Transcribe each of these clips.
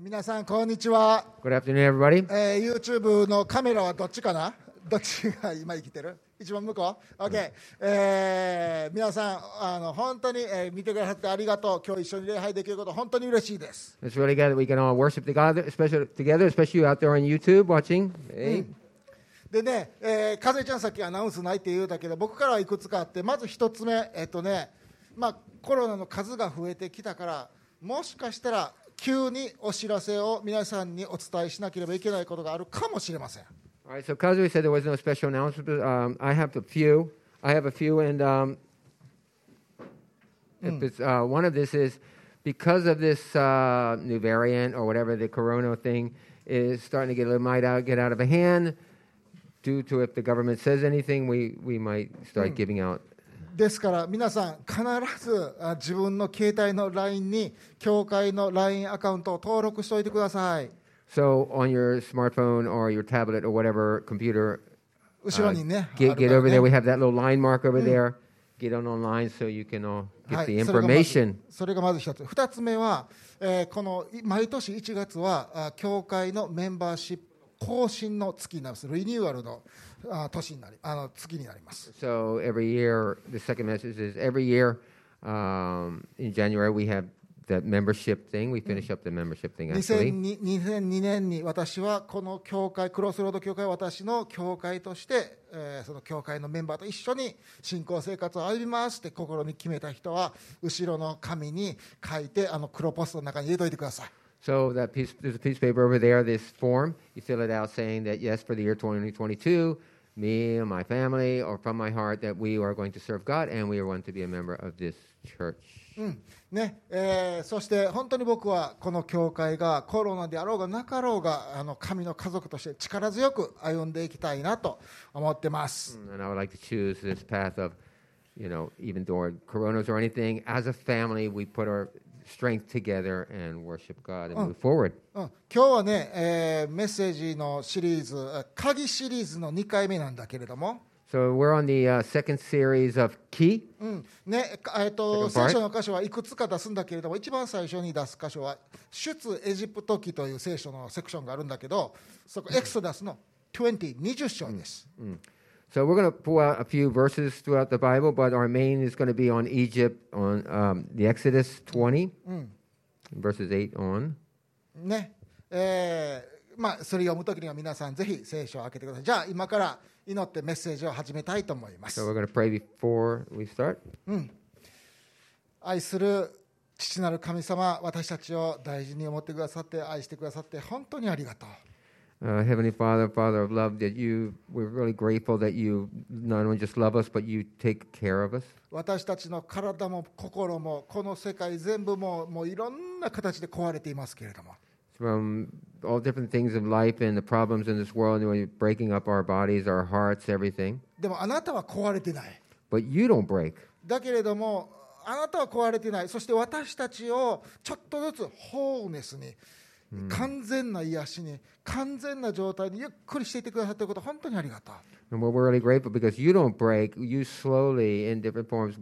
皆さんこんにちは。 Good afternoon, everybody. YouTube のカメラはどっちかな？どっちが今生きてる？一番向こう？ OK、皆さん本当に、見てくださってありがとう。今日一緒に礼拝できること本当に嬉しいです。 It's really good that we can all worship together, especially you out there on YouTube watching. Hey. でね、かずえちゃんさっきアナウンスないって言うたけど、僕からはいくつかあって、まず一つ目、コロナの数が増えてきたから、もしかしたら急にお知らせを皆さんにお伝えしなければいけないことがあるかもしれません。 All right, so Kazui said there was no special announcement. I have a few, and if it's, one of this is because of this new variant or whatever the corona thing is starting to get out of hand. Due to if the government says anything, we might start giving out. ですから皆さん必ず自分の携帯の LINE に教会の LINE アカウントを登録しておいてください。 So on your smartphone or your tablet or whatever computer, 後ろにね、 get over there. We have that little line mark over there. Get on online so you can all get the information. それがまず一つ。二つ目は、この毎年1月は教会のメンバーシップ更新の月になります。リニューアルの月になります。 So every year, the second message is every year in January we have that membership thing. We finish up the membership thing actually. 2002年に私はこの教会、クロスロード教会は私の教会として、その教会のメンバーと一緒に信仰生活を歩みますって心に決めた人は後ろの紙に書いて黒ポストの中に入れといてください。 So that piece, there's a piece of paper over there, this form. You fill it out saying that, yes, for the year 2022, me and my family, or from my heart, that we are going to serve God and we are going to be a member of this church. そして本当に僕はこの教会がコロナであろうがなかろうが神の家族として力強く歩んでいきたいなと思ってます。 And I would like to choose this path of, even during coronas or anything, as a family, we put our strength together and worship God and move forward. 今日はね、メッセージのシリーズ、鍵シリーズの2回目なんだけれども、 So we're on the second series of Key. 聖書の箇所はいくつか出すんだけれども、一番最初に出す箇所は出エジプト記という聖書のセクションがあるんだけど、そこエクソダスの20章です。 So we're going to pull out a few verses throughout the Bible, but our main is going to be on Egypt, on the Exodus 20, verses 8 on. それ読むときには皆さんぜひ聖書を開けてください。じゃあ今から祈ってメッセージを始めたいと思います。 So we're going to pray before we start. 愛する父なる神様、私たちを大事に思ってくださって愛してくださって本当にありがとう。 Heavenly Father, Father of love, we're really grateful that you not only just love us, but you take care of us. 私たちの体も心もこの世界全部もういろんな形で壊れていますけれども。 From all different things of life and the problems in this world, breaking up our bodies, our hearts, everything. でもあなたは壊れてない。 But you don't break. だけれどもあなたは壊れてない。そして私たちをちょっとずつホーネスに。完全な癒しに完全な状態にゆっくりしていてくださっていること本当にありがとう。 And we're really grateful because you don't break. You slowly, in different forms,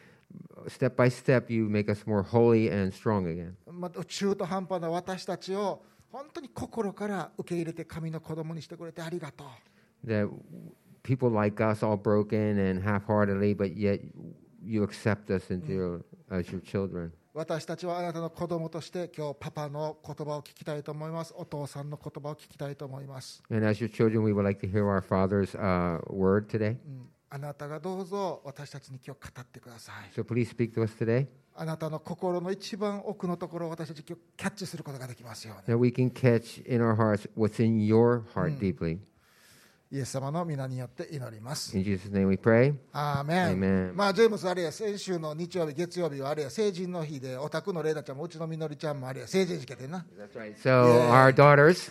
step by step, you make us more holy and strong again. 中途半端な私たちを本当に心から受け入れて神の子供にしてくれてありがとう。 That people like us, all broken and half-heartedly, but yet you accept us as your children. 私たちはあなたの子供として今日パパの言葉を聞きたいと思います。お父さんの言葉を聞きたいと思います。 And as your children, we would like to hear our Father's word today. あなたがどうぞ私たちに今日語ってください。 So please speak to us today. あなたの心の一番奥のところを私たち今日キャッチすることができますように。 That we can catch in our hearts what's in your heart deeply. イエス様の皆によって祈ります。 In Jesus' name we pray. アーメン。ジェームスあれや先週の日曜日月曜日はあれや成人の日でお宅のレイダちゃんもうちのみのりちゃんもあれや成人式でな。 That's right. So our daughters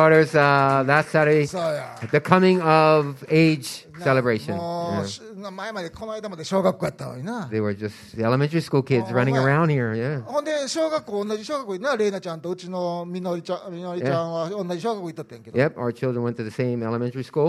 last Saturday, the coming of age celebration. 前までこの間まで小学校やったのにな。 They were just elementary school kids running around here. Yeah. ほんで同じ小学校になレイナちゃんとうちのみのりちゃんは同じ小学校行ったってんけど。 Yep, our children went to the same elementary school.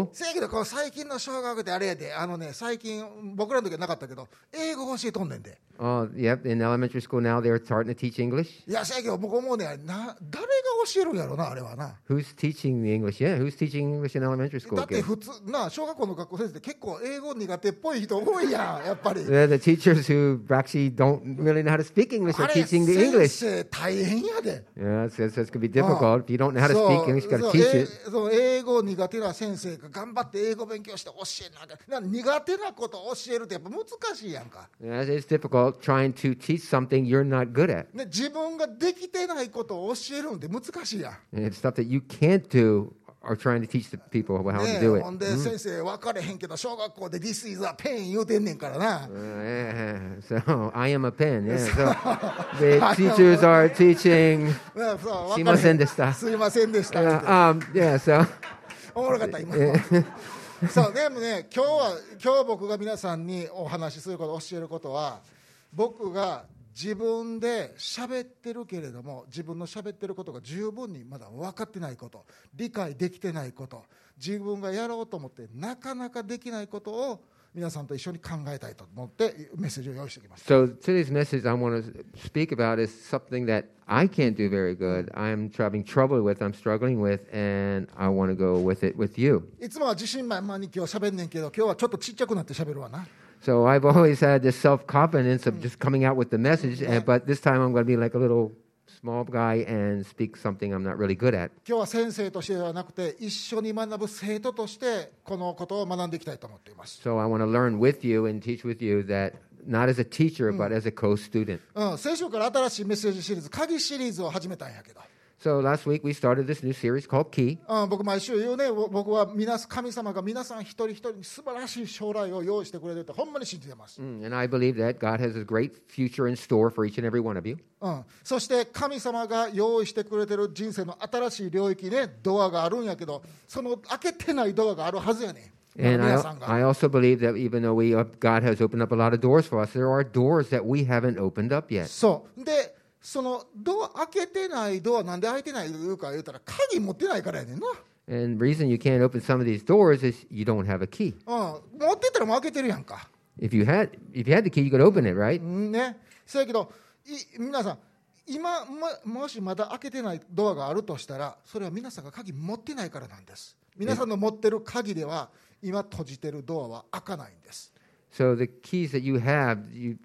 school. せやけどこの最近の小学ってあれやで、最近僕らの時はなかったけど英語教えとんねんで。 Oh, yep. In elementary school now, they're starting to teach English. いやせやけど僕思うね誰が教えるんやろなあれはな。 Who's teaching the English? Yeah, who's teaching English in elementary だ school? って Again? 普通な小学校の学校先生って結構英語苦手っぽい人多いやんやっぱり。 They're the teachers who actually don't really know how to speak English あ are れ teaching the 先 English. 生大変やで。 Yeah, so it can be difficult. If you don't know how to speak English, you got to teach it. そう英語苦手な先生が頑張って英語勉強して教えなきゃ苦手なことを教えるってやっぱ難しいやんか、 Yeah, it's difficult trying to teach something you're not good at. ね、自分ができてないことを教えるんで難しいやん、 And it's stuff that you can't do or trying to teach the people how to ね、 do ほん it. で先生分かれへんけど小学校で This is a pen 言うてんねんからな、 Yeah, so I am a pen. Yeah, so the teachers are teaching. ねそうすいませんでしたすいませんでした、 Yeah, so おもろかった今のそうでもね今日僕が皆さんにお話しすること教えることは僕が自分で喋ってるけれども自分の喋ってることが十分にまだ分かってないこと理解できてないこと自分がやろうと思ってなかなかできないことを皆さんと一緒に考えたいと思ってメッセージを用意してきました。 So today's message I want to speak about is something that I can't do very good. I'm having trouble with, I'm struggling with, and I want to go with it with you. いつもは自信満々に今日喋んねんけど今日はちょっとちっちゃくなって喋るわな。 So I've always had this self-confidence of just coming out with the message, but this time I'm going to be like a little small guy and speak something I'm not really good at. 今日は先生としてではなくて一緒に学ぶ生徒としてこのことを学んでいきたいと思っています。 So I want to learn with you and teach with you that not as a teacher, but as a co-student. 先週から新しいメッセージシリーズ鍵シリーズを始めたんやけど、 So last week we started this new series called Key. 僕毎週言うね僕は神様が皆さん一人一人に素晴らしい将来を用意してくれるってほんまに信じてます、 And I believe that God has a great future in store for each and every one of you. そして神様が用意してくれてる人生の新しい領域ねドアがあるんやけどその開けてないドアがあるはずやねん。 And 皆さんが I also believe that even though God has opened up a lot of doors for us, there are doors that we haven't opened up yet. そうでその開けてないドアなんで開いてないか言うたら鍵持ってないからやねんな、 And the reason you can't open some of these doors is you don't have a key. 持ってたらもう開けてるやんか、 If you had the key, you could open it, right? ね、そうやけど皆さん今もしまだ開けてないドアがあるとしたらそれは皆さんが鍵持ってないからなんです。皆さんの持ってる鍵では今閉じてるドアは開かないんです。 So the keys that you have,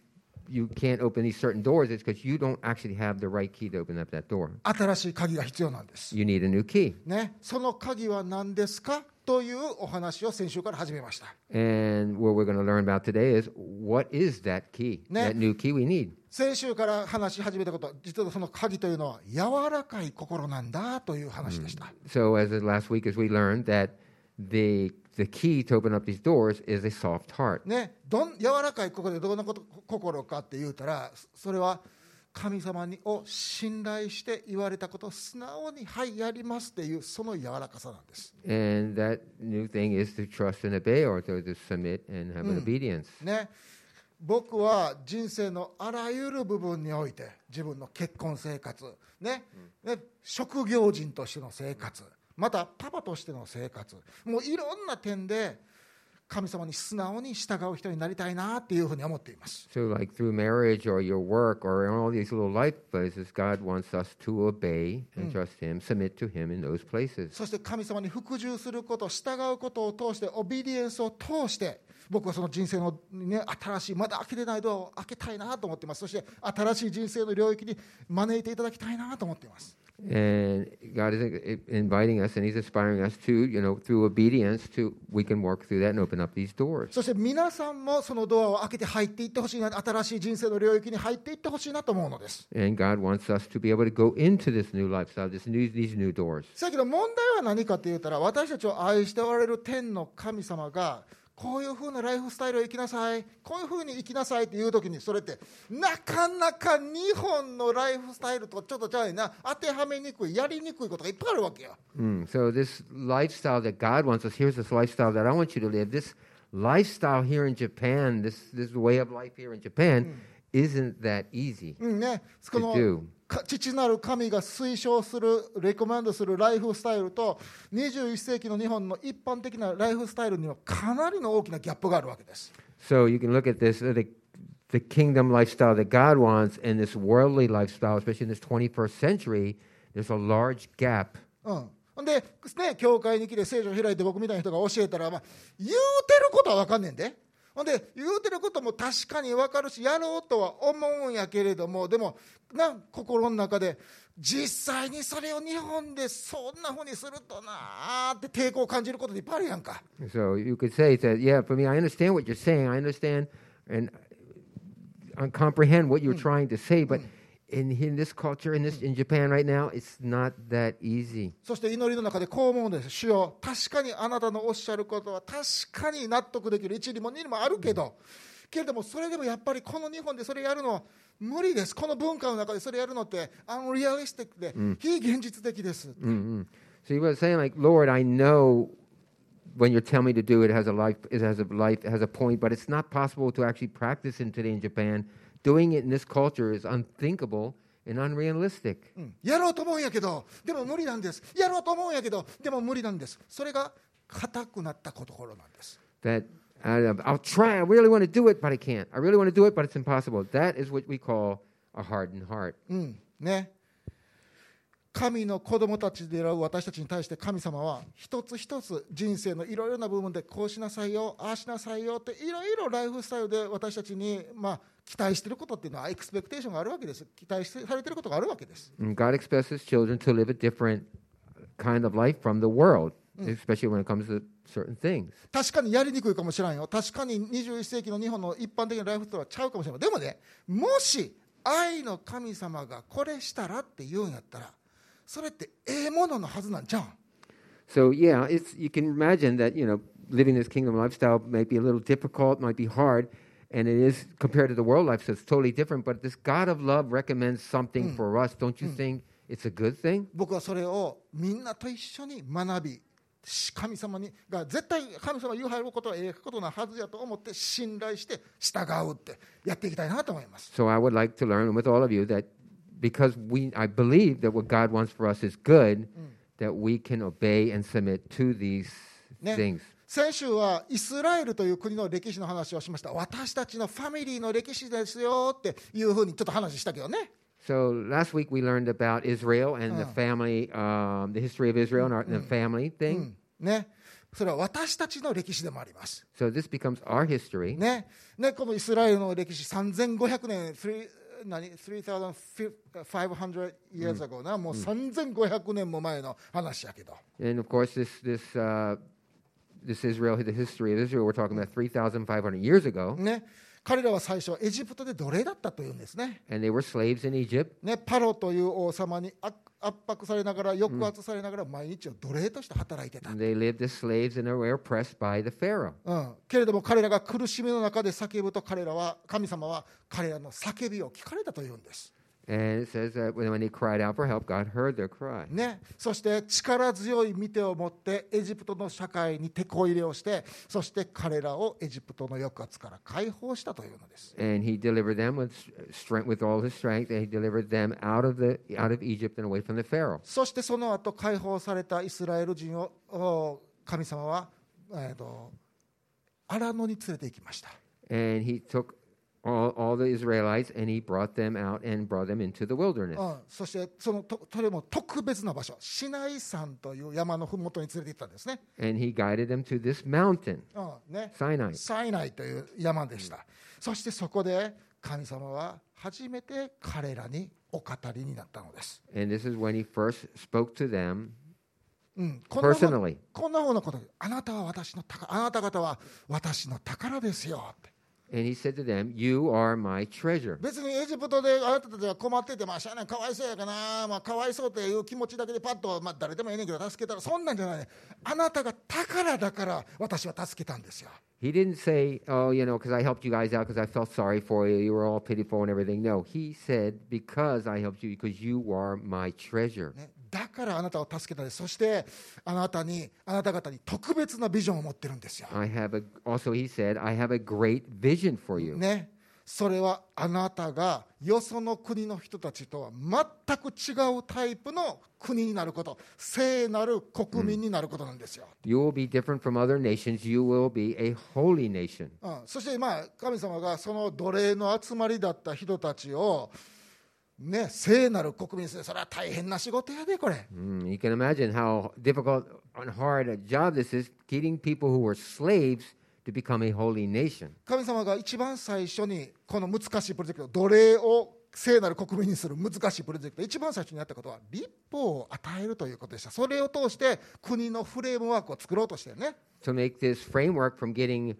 you can't open these certain doors. It's because you don't actually have the right key to open up that door. 新しい鍵が必要なんです、 You need a new key. ね、その鍵は何ですかというお話を先週から始めました。 And what we're going to learn about today is what is that key, that new key we need. 先週から話し始めたこと実はその鍵というのは柔らかい心なんだという話でした、 So as last week, as we learned that the key to open up these doors is a soft heart. ね、柔らかい心でどんな心かって言うたらそれは神様を信頼して言われたことを素直にはいやりますっていうその柔らかさなんです、 And that new thing is to trust and obey, or to submit and have an obedience. ね、僕は人生のあらゆる部分において自分の結婚生活、ね、職業人としての生活またパパとしての生活もういろんな点で神様に素直に従う人になりたいなっていうふうに思っています。 So like through marriage or your work or in all these little life places, God wants us to obey and trust Him, submit to Him in those places. そして神様に服従すること従うことを通してオビディエンスを通して僕はその人生の、ね、新しいまだ開けてないドアを開けたいなと思っています。そして新しい人生の領域に招いていただきたいなと思っています。 And God is inviting us and He's inspiring us to, through obedience, we can work through that and open up these doors. そして皆さんもそのドアを開けて入っていってほしいな、新しい人生の領域に入っていってほしいなと思うのです。 And God wants us to be able to go into this new lifestyle, these new doors. だけど問題は何かと言ったら私たちを愛しておられる天の神様がこういうふうなライフスタイルを生きなさいこういうふうに生きなさいっていう時にそれってなかなか日本のライフスタイルとちょっとちゃうな当てはめにくいやりにくいことがいっぱいあるわけよ。 So this lifestyle that God wants us, here's this lifestyle that I want you to live. This lifestyle here in Japan, this way of life here in Japan, isn't that easy ね、こ to の do. 父なる神が推奨するレコメンドするライフスタイルと21世紀の日本の一般的なライフスタイルにはかなりの大きなギャップがあるわけです。 So you can look at this, the kingdom lifestyle that God wants and this worldly lifestyle, especially in this 21st century, there's a large gap. で、ね、教会に来て聖書を開いて僕みたいな人が教えたら、言うてることは分かんねんで。で言うてることも確かに分かるしやろうとは思うんやけれども、でも心の中で実際にそれを日本でそんなふうにするとなって抵抗を感じることでいっぱいあるやんか。 So you could say that, yeah, for me, I understand what you're saying. I understand and comprehend what you're trying to say, but in this culture, in Japan right now, it's not that easy. そして祈りの中でこう思うんです。主よ、確かにあなたのおっしゃることは確かに納得できる一理も二理もあるけど、けれどもそれでもやっぱりこの日本でそれやるのは無理です。この文化の中でそれやるのってアンリアリスティックで非現実的です。 So he was saying, like, Lord, I know when you tell me to do it, it has a point, but it's not possible to actually practice it today in Japan. Doing it in this culture is unthinkable and unrealistic. やろうと思うんやけどでも無理なんです。やろうと思うんやけどでも無理なんです。それが固くなったところなんです。 That I'll try. I really want to do it, but I can't. I really want to do it, but it's impossible. That is what we call a hardened heart. ね。神の子供たちである私たちに対して神様は一つ一つ人生のいろいろな部分でこうしなさいよ、ああしなさいよっていろいろライフスタイルで私たちに期待していることっていうのはエクスペクテーションがあるわけです。期待されていることがあるわけです。 God expects His children to live a different kind of life from the world, especially when it comes to certain things. 確かにやりにくいかもしれんよ。確かに21世紀の日本の一般的なライフスタイルはちゃうかもしれない。でもね、もし愛の神様がこれしたらって言うんやったらそれってもののはずなんじゃん。 So yeah, you can imagine that, living this kingdom lifestyle might be a little difficult, might be hard, and it is compared to the world life, so it's totally different. But this God of love recommends something for us. Don't you think it's a good thing? 僕はそれをみんなと一緒に学び、神様が絶対神様が言うはることはことなはずやと思って信頼して従うってやっていきたいなと思います。 So I would like to learn with all of you that because I believe that what God wants for us is good, that we can obey and submit to these things. 先週はイスラエルという国の歴史の話をしました。私たちのファミリーの歴史ですよっていうふうにちょっと話したけどね。 So last week we learned about Israel and the family, the history of Israel and the family thing. ね、それは私たちの歴史でもあります。 So this becomes our history. ね、このイスラエルの歴史3500年3,500 years ago な、もう3500年も前の話やけど。 And of course this Israel, the history of Israel, we're talking about 3,500 years ago. ね、彼らは最初エジプトで奴隷だったというんですね。 And they were slaves in Egypt. ね、パロという王様に圧迫されながら抑圧されながら毎日を奴隷として働いてた。 And they lived as slaves and were oppressed by the Pharaoh. けれども彼らが苦しみの中で叫ぶと神様は彼らの叫びを聞かれたというんです。 And it says that when they cried out for help, God heard their cry. ね、そして力強い見てを持ってエジプトの社会に手こ入れをして、そして彼らをエジプトの抑圧から解放したというのです。 And he delivered them with all his strength, and he delivered them out of Egypt and away from the Pharaoh. そしてその後解放されたイスラエル人を神様はアラノに連れて行きました。 And he took all the Israelites and he brought them out and brought them into the wilderness. そしてそれも特別な場所、シナイ山という山のふもとに連れて行ったんですね。 And he guided them to this mountain, ね、 Sinai. サイナイという山でした。そしてそこで神様は初めて彼らにお語りになったのです。 And this is when he first spoke to them personally. こんなふうなことで、あなた方は私の宝ですよって。 And he said to them, "You are my treasure." 別にエジプトであなたたちが困ってて、しゃあないかわいそうやかな、かわいそうという気持ちだけでパッと、誰でもいいねんけど助けたら、そんなんじゃない、ね、あなたが宝だから私は助けたんですよ。 He didn't say, "Oh, because I helped you guys out because I felt sorry for you. You were all pitiful and everything." No, he said, "Because I helped you, because you are my treasure." ね、だからあなたを助けたです。そしてあなた方に特別なビジョンを持ってるんですよ。 Also, he said, "I have a great vision for you." ね、 それはあなたがよその国の人たちとは全く違うタイプの国になること、聖なる国民になることなんですよ。 You will be different from other nations. You will be a holy nation. そして神様がその奴隷の集まりだった人たちを聖なる国民にする。それは大変な仕事やでこれ。 You can imagine how difficult and hard a job this is, getting people who were slaves to become a holy nation. 神様が一番最初にこの難しいプロジェクト、奴隷を聖なる国民にする難しいプロジェクト、一番最初にやったことは立法を与えるということでした。それを通して国のフレームワークを作ろうとしてね。 To make this framework from getting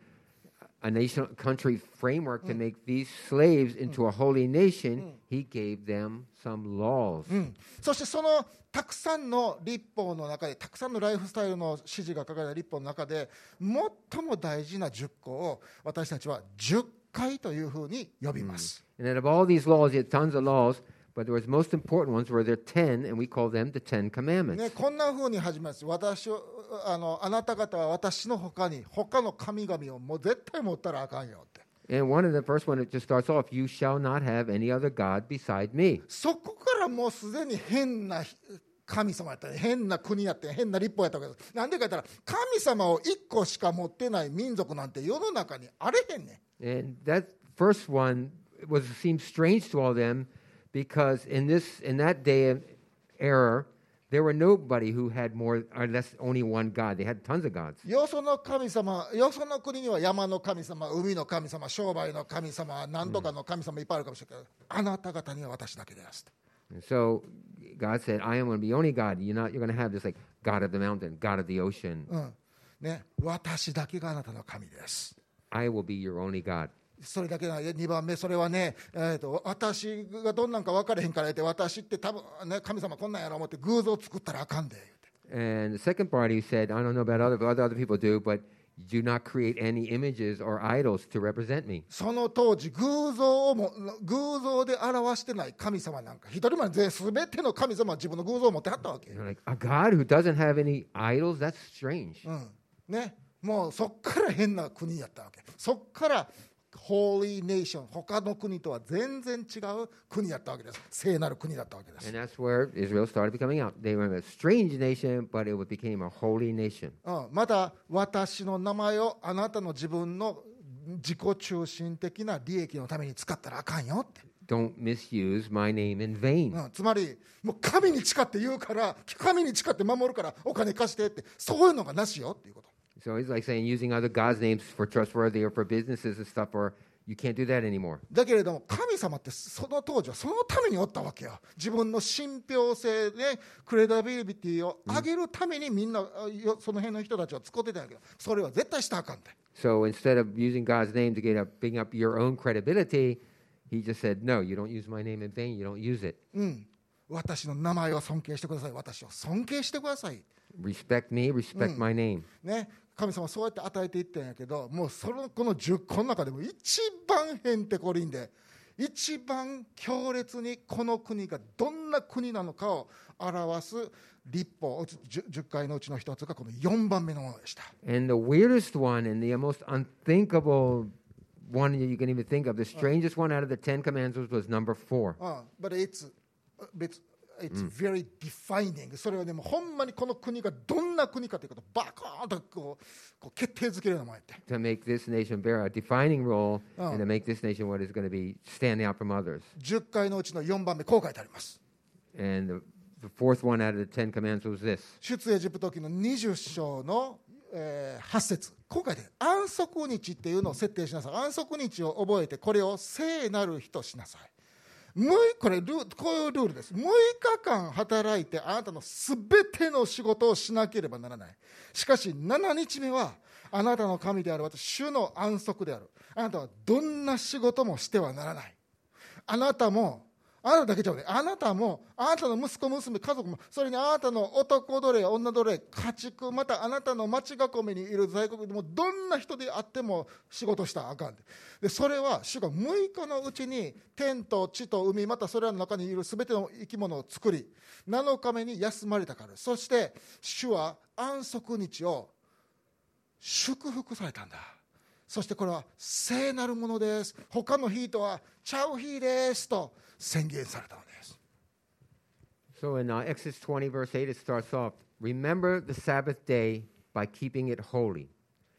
a nation, country framework to make these slaves into a holy nation, he gave them some laws. そしてそのたくさんの立法の中で、たくさんのライフスタイルの指示が書かれた立法の中で、最も大事な10個を私たちは10回というふうに呼びます。 And out of all these laws, he had tons of laws, but there was most important ones were there 10, and we call them the 10 commandments. こんなふうに始めます。あなた方は私の他に他の神々をもう絶対持ったらあかんよって。 And one of the first one, it just starts off, you shall not have any other God beside me. そこからもうすでに変な神様やったり、変な国やって変な立法やったわけです。なんでか言ったら、神様を1個しか持ってない民族なんて世の中にあれへんねん。 And that first one seemed strange to all them because in that day of error, there were nobody who had more or less only one God. They had tons of gods. よその神様、よその国には山の神様、海の神様、商売の神様、何とかの神様いっぱいあるかもしれないけど、あなた方には私だけです。 And so God said, I am going to be only God. You're going to have this like God of the mountain, God of the ocean. 私だけがあなたの神です。 I will be your only God. それだけな2番目、それはね、私がどんなんか分からへんから言って、私って多分、神様こんなんやろ思って偶像作ったらあかんで言うて。 And the second part, he said, I don't know about other people do, but do not create any images or idols to represent me. その当時偶像で表してない神様なんか一人も全ての神様は自分の偶像を持ってはったわけ。 Like a God who doesn't have any idols? That's strange. もうそっから変な国やったわけ。そっからHoly Nation、他の国とは全然違う国だったわけです。聖なる国だったわけです。 And that's where Israel started becoming out. They were a strange nation, but it became a holy nation. また私の名前をあなたの自分の自己中心的な利益のために使ったらあかんよって。 Don't misuse my name in vain. つまりもう神に誓って言うから、神に誓って守るからお金貸してって、そういうのがなしよっていうこと。 So he's like saying using other God's names for trustworthy or for businesses and stuff, or you can't do that anymore. だけれども神様ってその当時はそのためにおったわけよ。自分の信憑性でクレダビリティを上げるためにみんなその辺の人たちは使ってたんだけど、それは絶対したらあかんで。 So instead of using God's name to bring up your own credibility, he just said, no, you don't use my name in vain, you don't use it. 私の名前を尊敬してください。私を尊敬してください。 Respect me, respect my name. 神様はそうやって与えていったんやけど、もうこの10個の中でも一番へんてこりんで、一番強烈にこの国がどんな国なのかを表す立法、10回のうちの一つがこの4番目のものでした。 And the weirdest one and the most unthinkable one you can even think of, the strangest one out of the 10 commandments was number 4. But it's very defining. それはね、もうほんまにこの国がどんな国かということをバカーンとこう決定づけるようなもんやって。 To make this nation bear a defining role and to make this nation what is going to be standing out from others. 10回のうちの4番目、こう書いてあります。 And the fourth one out of the 10 commandments was this. 出エジプト記の20章の8節、こう書いてある。安息日っていうのを設定しなさい。安息日を覚えてこれを聖なる日としなさい。こういうルールです。6日間働いてあなたのすべての仕事をしなければならない。しかし7日目はあなたの神である私主の安息である。あなたはどんな仕事もしてはならない。あなただけじゃない。あなたもあなたの息子娘家族も、それにあなたの男奴隷女奴隷家畜、またあなたの町囲みにいる在国でもどんな人であっても仕事したらあかんで、それは主が6日のうちに天と地と海、またそれらの中にいるすべての生き物を作り7日目に休まれたから。そして主は安息日を祝福されたんだ。 そしてこれは聖なるものです、他の日とはちゃう日ですと宣言されたのです。 So in Exodus 20, verse 8, it starts off, Remember the Sabbath day by keeping it holy.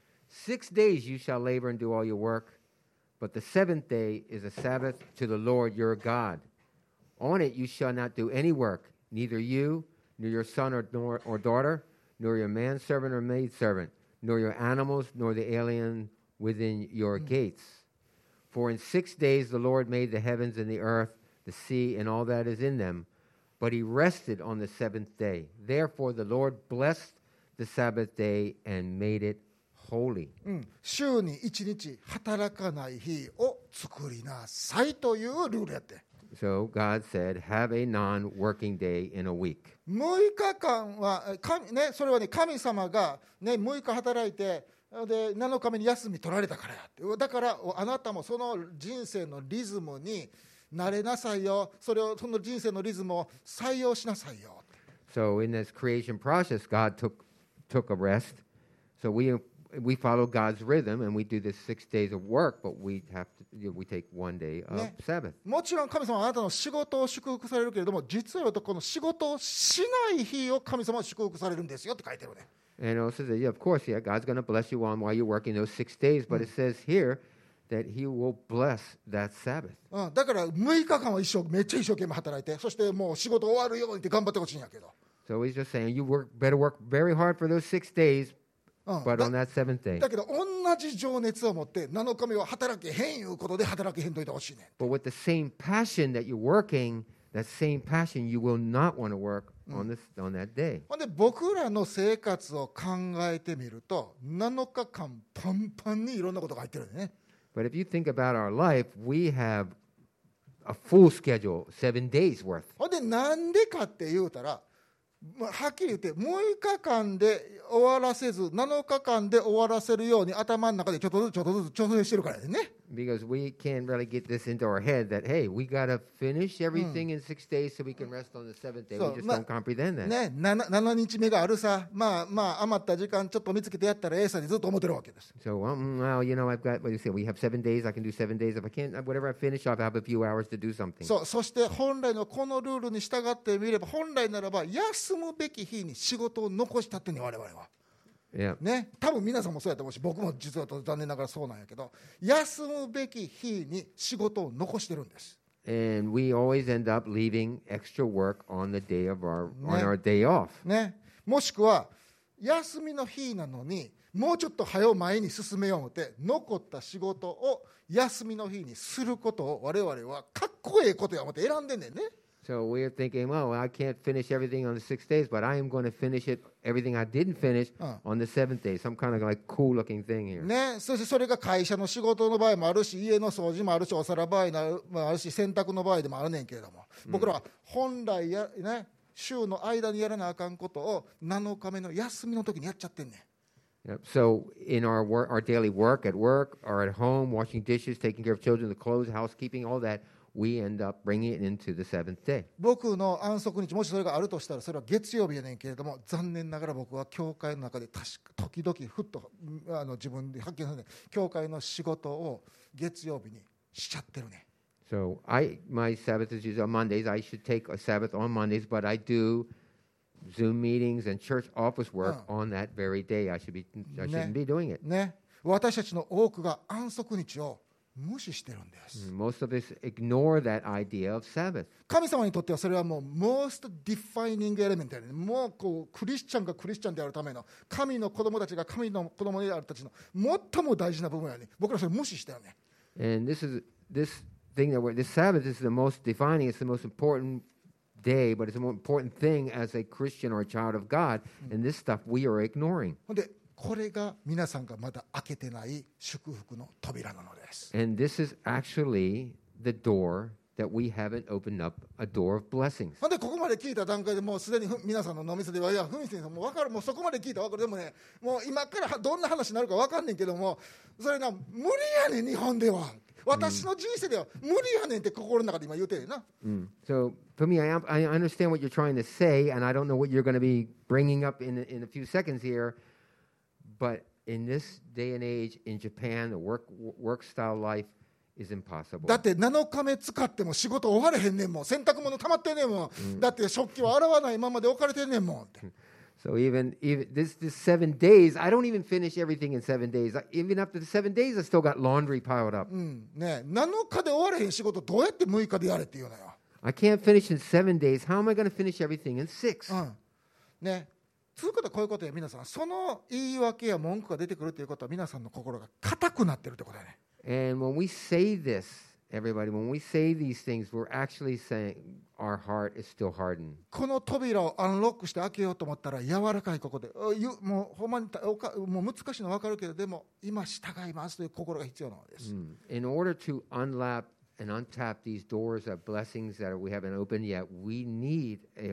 6 days you shall labor and do all your work, but the seventh day is a Sabbath to the Lord your God. On it you shall not do any work, neither you, nor your son or daughter, nor your manservant or maidservant, nor your animals, nor the alien within your gates. For in 6 days the Lord made the heavens and the earth, the sea, and all that is in them, but he rested on the seventh day. Therefore the Lord blessed the Sabbath day and made it holy. 週に1日働かない日を作りなさいというルールやって。 So God said, have a non-working day in a week. 6日間はそれはね、神様が、ね、6日働いてで7日目に休み取られたからやって。だからあなたもその人生のリズムに慣れなさいよ、その人生のリズムを採用しなさいよ。 So in this creation process, God took a rest. So we follow God's rhythm, and we do this 6 days of work, but we take 1 day of Sabbath. もちろん神様はあなたの仕事を祝福されるけれども、実はこの仕事をしない日を神様は祝福されるんですよって書いてるね。 And it says that, yeah, of course, yeah, God's going to bless you while you're working those 6 days, but it says here that he will bless that Sabbath. だから6日間はめっちゃ一生懸命働いて、そしてもう仕事終わるようにって頑張ってほしいんやけど。 So he's just saying, you better work very hard for those 6 days, but on that seventh day. だけど同じ情熱を持って7日目は働けへんいうことで働けへんといてほしいね。 But with the same passion that you're working, that same passion, you will not want to work on that day. ほんで僕らの生活を考えてみると7日間パンパンにいろんなことが入ってるね。 But if you think about our life, we have a full schedule, 7 days worth. ほんでなんでかって言うたら、はっきり言って6日間で終わらせず7日間で終わらせるように頭の中でちょっとずつ調整してるからね。 Because we can't really get this into our head that, hey, we got to finish everything in 6 days so we can rest on the seventh day. We just don't comprehend that. ね、7日目があるさ、まあ余った時間ちょっと見つけてやったらええさにずっと思ってるわけです。 So, well, I've got, what do you say, we have 7 days, I can do 7 days. If I can't, whatever I finish, I'll have a few hours to do something. そして本来のこのルールに従ってみれば、本来ならば休むべき日に仕事を残したってね、我々は。 Yeah. ね、多分皆さんもそうやと思うし、僕も実は残念ながらそうなんやけど、休むべき日に仕事を残してるんです。 And we always end up leaving extra work on the day of on our day off. ね、もしくは休みの日なのにもうちょっと早う前に進めよう思って残った仕事を休みの日にすることを我々はかっこええことや思って選んでんねんね。 So we're thinking, well, I can't finish everything on the 6 days, but I am going to finish everything I didn't finish on the seventh day. Some kind of like cool looking thing here. ね、そしてそれが会社の仕事の場合もあるし、家の掃除もあるし、お皿場合もあるし、洗濯の場合でもあるねんけれども、僕らは本来ね、週の間にやらなあかんことを7日目の休みの時にやっちゃってんねん。 Yep. So in our daily work or at home, washing dishes, taking care of children, the clothes, housekeeping, all that, we end up bringing it into the seventh day. 僕の安息日、もしそれがあるとしたらそれは月曜日やねんけれども、残念ながら僕は教会の中で時々ふっと自分で発見するね、教会の仕事を月曜日にしちゃってるね。 So my Sabbath is usually on Mondays. I should take a Sabbath on Mondays, but I do Zoom meetings and church office work on that very day. I shouldn't be doing it. ね、私たちの多くが安息日を無視してるんです。 Most of us ignore that idea of Sabbath. 神様にとってはそれはもう most defining element やね。もうこうクリスチャンがクリスチャンであるための、神の子供たちが神の子供であるたちの最も大事な部分やね。僕らそれ無視してるね。 And this Sabbath is the most defining. It's the most important day, but it's the most important thing as a Christian or a child of God. And this stuff we are ignoring. ほんでこれが皆さんがまだ開けてない祝福の扉なのです。 And this is actually the door that we haven't opened up, a door of blessings. ほんでここまで聞いた段階でもうすでに皆さんの脳みそでは、いやふみ先生もう分かる、もうそこまで聞いたら分かる。でもね、もう今からどんな話になるか分かんねんけども、それな無理やねん、日本では。私の人生では無理やねんって心の中で今言うてるな。 So for me, I understand what you're trying to say, and I don't know what you're going to be bringing up in a few seconds here. But in this day and age in Japan, the work style life is impossible. だって7日目使っても仕事終われへんねんもん。洗濯物溜まってんねんもん。だって食器は洗わないままで置かれてんねんもんって。 So even this 7 days, I don't even finish everything in 7 days. Even after the 7 days, I still got laundry piled up. ね、7日で終われへん仕事どうやって6日でやれって言うのよ。 I can't finish in 7 days. How am I going to finish everything in 6? ね。つうことはこういうことや皆さん、その言い訳や文句が出てくるということは皆さんの心が硬くなってるってことだね。 And when we say this, everybody, when we say these things, we're actually saying our heart is still hardened. この扉をアンロックして開けようと思ったら柔らかいここで、もうほんまにもう難しいの分かるけど、でも今従いますという心が必要なのです。 In order to unlap and untap these doors of blessings that we haven't opened yet, we need a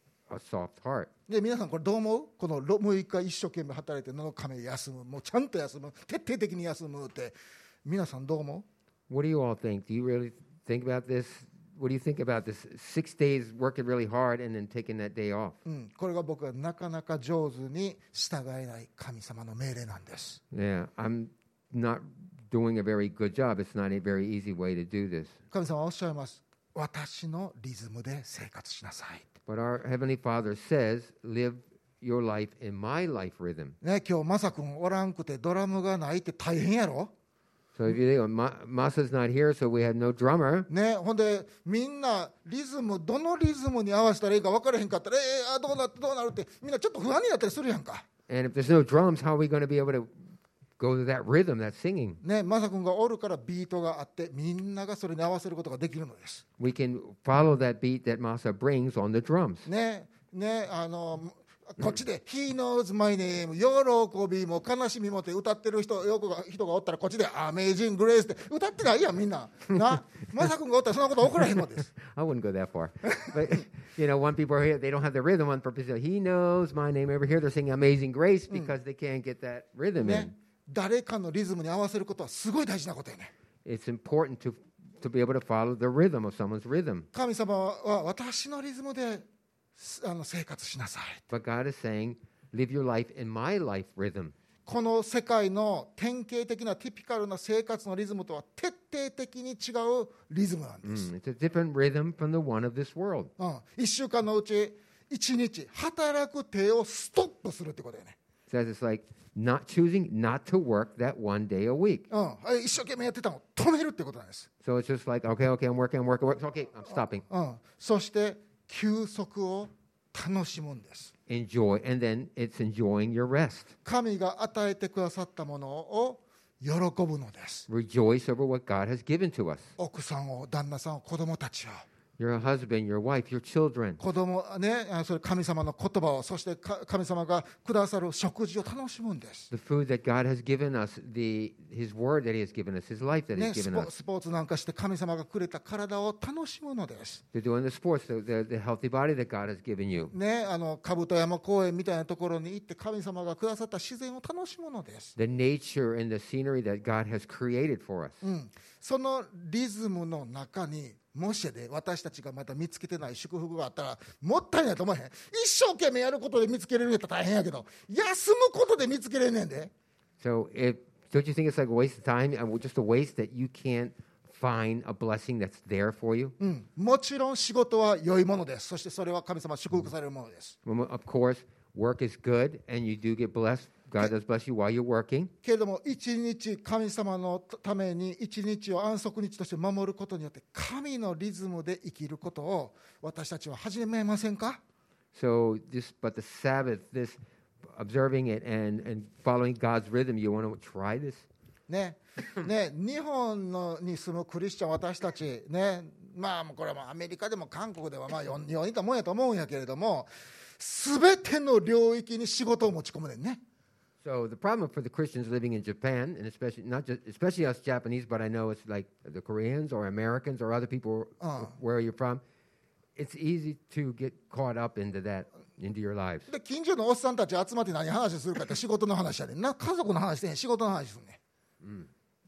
soft heart. で皆さんこれどう思う？この6日一生懸命働いて7日目休む、もうちゃんと休む、徹底的に休むって皆さんどう思う？ What do you all think? Do you really think about this? What do you think about this? 6 days working really hard and then taking that day off. これが僕はなかなか上手に従えない神様の命令なんです。 Yeah, I'm not doing a very good job. It's not a very easy way to do this. 神様はおっしゃいます。私のリズムで生活しなさい。 But our Heavenly Father says, live your life in my life rhythm. ね、今日マサ君おらんくてドラムがないって大変やろ。 So if you think, Masa's not here, so we have no drummer. ね、ほんでみんなリズムどのリズムに合わせたらいいか分からへんかったらどうなるってみんなちょっと不安になったりするやんか。 And if there's no drums, how are we going to be able to go to that rhythm, that singing? ね、マサ君がおるからビートがあってみんながそれに合わせることができるのです。 We can follow that beat that Masa brings on the drums. ね、こっちで He knows my name 喜びも悲しみもって歌ってる人がおったらこっちで Amazing Grace って歌ってないやんみんな。な、マサ君がおったらそんなこと起こらへんのです。 I wouldn't go that far. But, one people are here, they don't have the rhythm on purpose. He knows my name. Over here they're singing Amazing Grace because they can't get that rhythm in. ね、誰かのリズムに合わせることはすごい大事なことやね。 It's important to be able to follow the rhythm of someone's rhythm. 神様は私のリズムで生活しなさい。 But God is saying, live your life in my life rhythm. この世界の典型的なティピカルな生活のリズムとは徹底的に違うリズムなんです。 It's a different rhythm from the one of this world. 1週間のうち1日働く手をストップするってことだよね。 It says it's like not choosing not to work that one day a week. 一生懸命やってたのを止めるってことなんです。 So it's just like, okay, I'm working. Okay, I'm stopping. そして休息を楽しむんです。 Enjoy, and then it's enjoying your rest. 神が与えてくださったものを喜ぶのです。 Rejoice over what God has given to us. 奥さんを、旦那さんを、子供たちを。 Your husband, your wife, your children. 子供ね、それ神様の言葉を、そして神様がくださる食事を楽しむんです。 The food that God has given us, His word that He has given us, His life that He has given us. スポーツなんかして神様がくれた体を楽しむのです。 They're doing the sports, the healthy body that God has given you. ね、兜山公園みたいなところに行って神様がくださった自然を楽しむのです。 The nature and the scenery that God has created for us. そのリズムの中にもしで私たちがまだ見つけてない祝福があったらもったいないと思えへん。一生懸命やることで見つけれるんやったら大変やけど、休むことで見つけれんねんで。 So don't you think it's like a waste of time, just a waste that you can't find a blessing that's there for you? もちろん仕事は良いものです。そしてそれは神様祝福されるものです。 Of course, work is good and you do get blessed. God does bless you while you're working. けれども一日神様のために一日を安息日として守ることによって神のリズムで生きることを私たちは始めませんか？ So but the Sabbath, this observing it and following God's rhythm, you want to try this? ね、日本に住むクリスチャン私たちね、まあこれはアメリカでも韓国ではまあ似たもんやと思うんやけれども、すべての領域に仕事を持ち込むねんね。 So the problem for the Christians living in Japan, and especially us Japanese, but I know it's like the Koreans or Americans or other people where you're from, it's easy to get caught up into your lives. で近所のおっさんたち集まって何話するかって仕事の話やでんな。家族の話で仕事の話するね。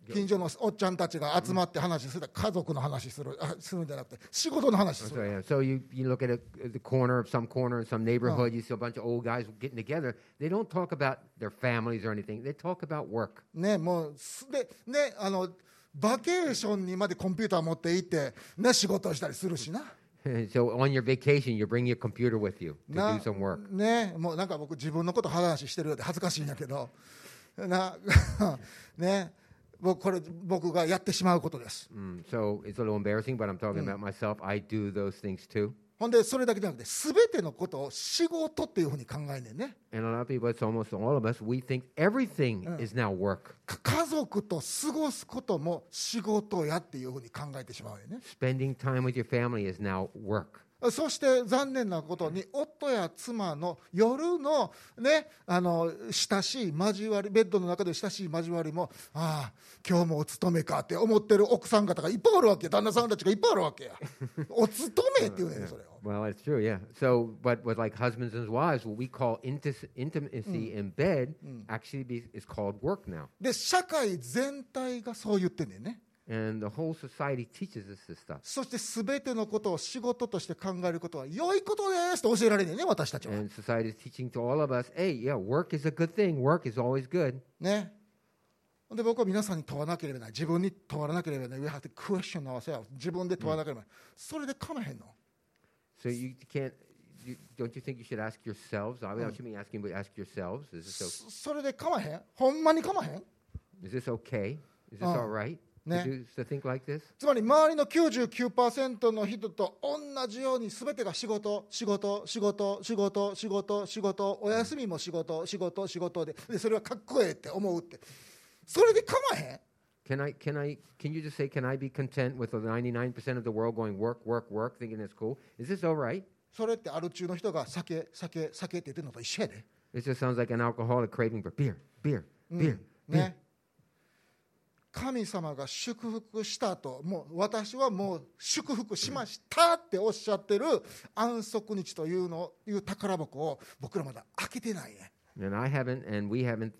近所のおっちゃんたちが集まって話する、家族の話するんじゃなくて仕事の話す So, る。 yeah. So you look at the corner of some neighborhood, you see a bunch of old guys getting together. They don't talk about their families or anything. They talk about work. ね、もうでね、バケーションにまでコンピューター持って行って、ね、仕事をしたりするしな。 So on your vacation, you bring your computer with you to な do some work. ね、もうなんか僕自分のこと話してるようで恥ずかしいんやけどなね、僕がやってしまうことです。 So it's a little embarrassing, but I'm talking about myself. I do those things too. ほんでそれだけじゃなくて全てのことを仕事っていうふうに考えねんね。 And a lot of people, it's almost all of us, we think everything is now work. 家族と過ごすことも仕事やっていうふうに考えてしまうよね。 Spending time with your family is now work. そして残念なことに夫や妻の夜の、ね、親しい交わり、ベッドの中で親しい交わりも、ああ今日もお勤めかって思ってる奥さん方がいっぱいあるわけ、旦那さんたちがいっぱいあるわけや。お勤めっていうねそれを。 Well, it's true, yeah. So, but with like husbands and wives, what we call intimacy in bed actually is called work now. で社会全体がそう言ってんねんね。 And the whole society teaches us this stuff. そして全てのことを仕事として考えることは良いことですと教えられるね、私たちは。 And society is teaching to all of us, hey, yeah, work is a good thing. Work is always good. ね。で僕は皆さんに問わなければならない、自分に問わなければならない、We have to question ourselves。自分で問わなければならない。それでかまへんの。 So you can't, don't you think you should ask yourselves? I shouldn't be asking, but ask yourselves. それでかまへん、ほんまにかまへん。 Is this okay? Is this all right? ね。 To think like this? つまり周りの 99% の人と同じように全てが仕事、仕事、仕事、仕事、仕事、仕事、お休みも仕事、仕事、仕事で、それはかっこええって思うって、それでかまへん。 Can you just say, can I be content with the 99% of the world going work, work, work, thinking it's cool? Is this all right? それってアル中の人が酒って言ってるのと一緒やで。 It just sounds like an alcoholic craving for beer, beer, beer, beer. ね。神様が祝福したと、もう私はもう祝福しましたっておっしゃってる安息日という宝箱を僕らまだ開けてないね。 And I haven't, and we haven't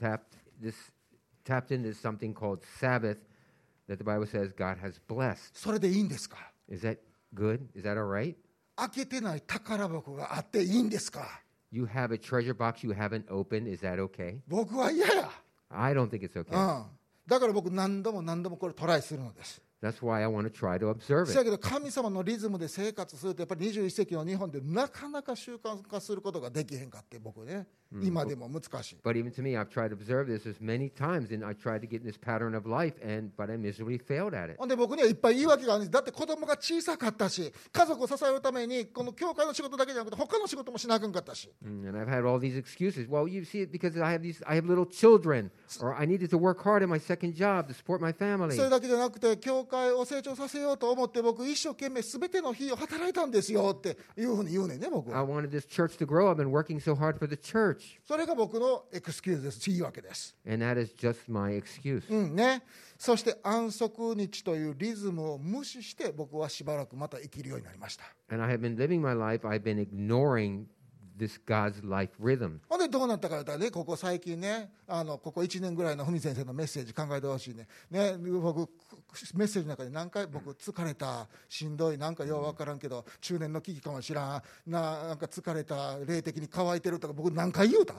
tapped into something called Sabbath that the Bible says God has blessed. それでいいんですか？ Is that good? Is that all right? 開けてない宝箱があっていいんですか？ You have a treasure box you haven't opened. Is that okay? 僕は嫌や。 I don't think it's okay. だから僕何度もこれトライするのです。 That's why I want to try to observe せや it. けど神様のリズムで生活するとやっぱり21世紀の日本でなかなか習慣化することができへんかって僕ね、今でも難しい。 But even to me, I've tried to observe this as many times, and I tried to get in this pattern of life, but I miserably failed at it. ほんで僕にはいっぱい言い訳があるんです。だって子供が小さかったし、家族を支えるためにこの教会の仕事だけじゃなくて他の仕事もしなあかんかったし。 And I've had all these excuses. Well, you see it because I have little children, or I needed to work hard at my second job to support my family. それだけじゃなくて教会を成長させようと思って僕一生懸命全ての日を働いたんですよっていうふうに言うねんね僕 I は。 wanted this church to grow. I've been working so hard for the church. それが僕のエクスキューズです。いいわけです。 And that is just my excuse. ね。そして安息日というリズムを無視して僕はしばらくまた生きるようになりました。 And I have been living my life. I've been ignoring this God's life rhythm. ほんでどうなったかというとね、ここ最近ね、ここ1年ぐらいの文先生のメッセージ考えてほしいね。ね、僕メッセージの中で何回僕疲れた、しんどい、なんかようわからんけど中年の危機かもしらん、なんか疲れた、霊的に乾いてるとか僕何回言うた？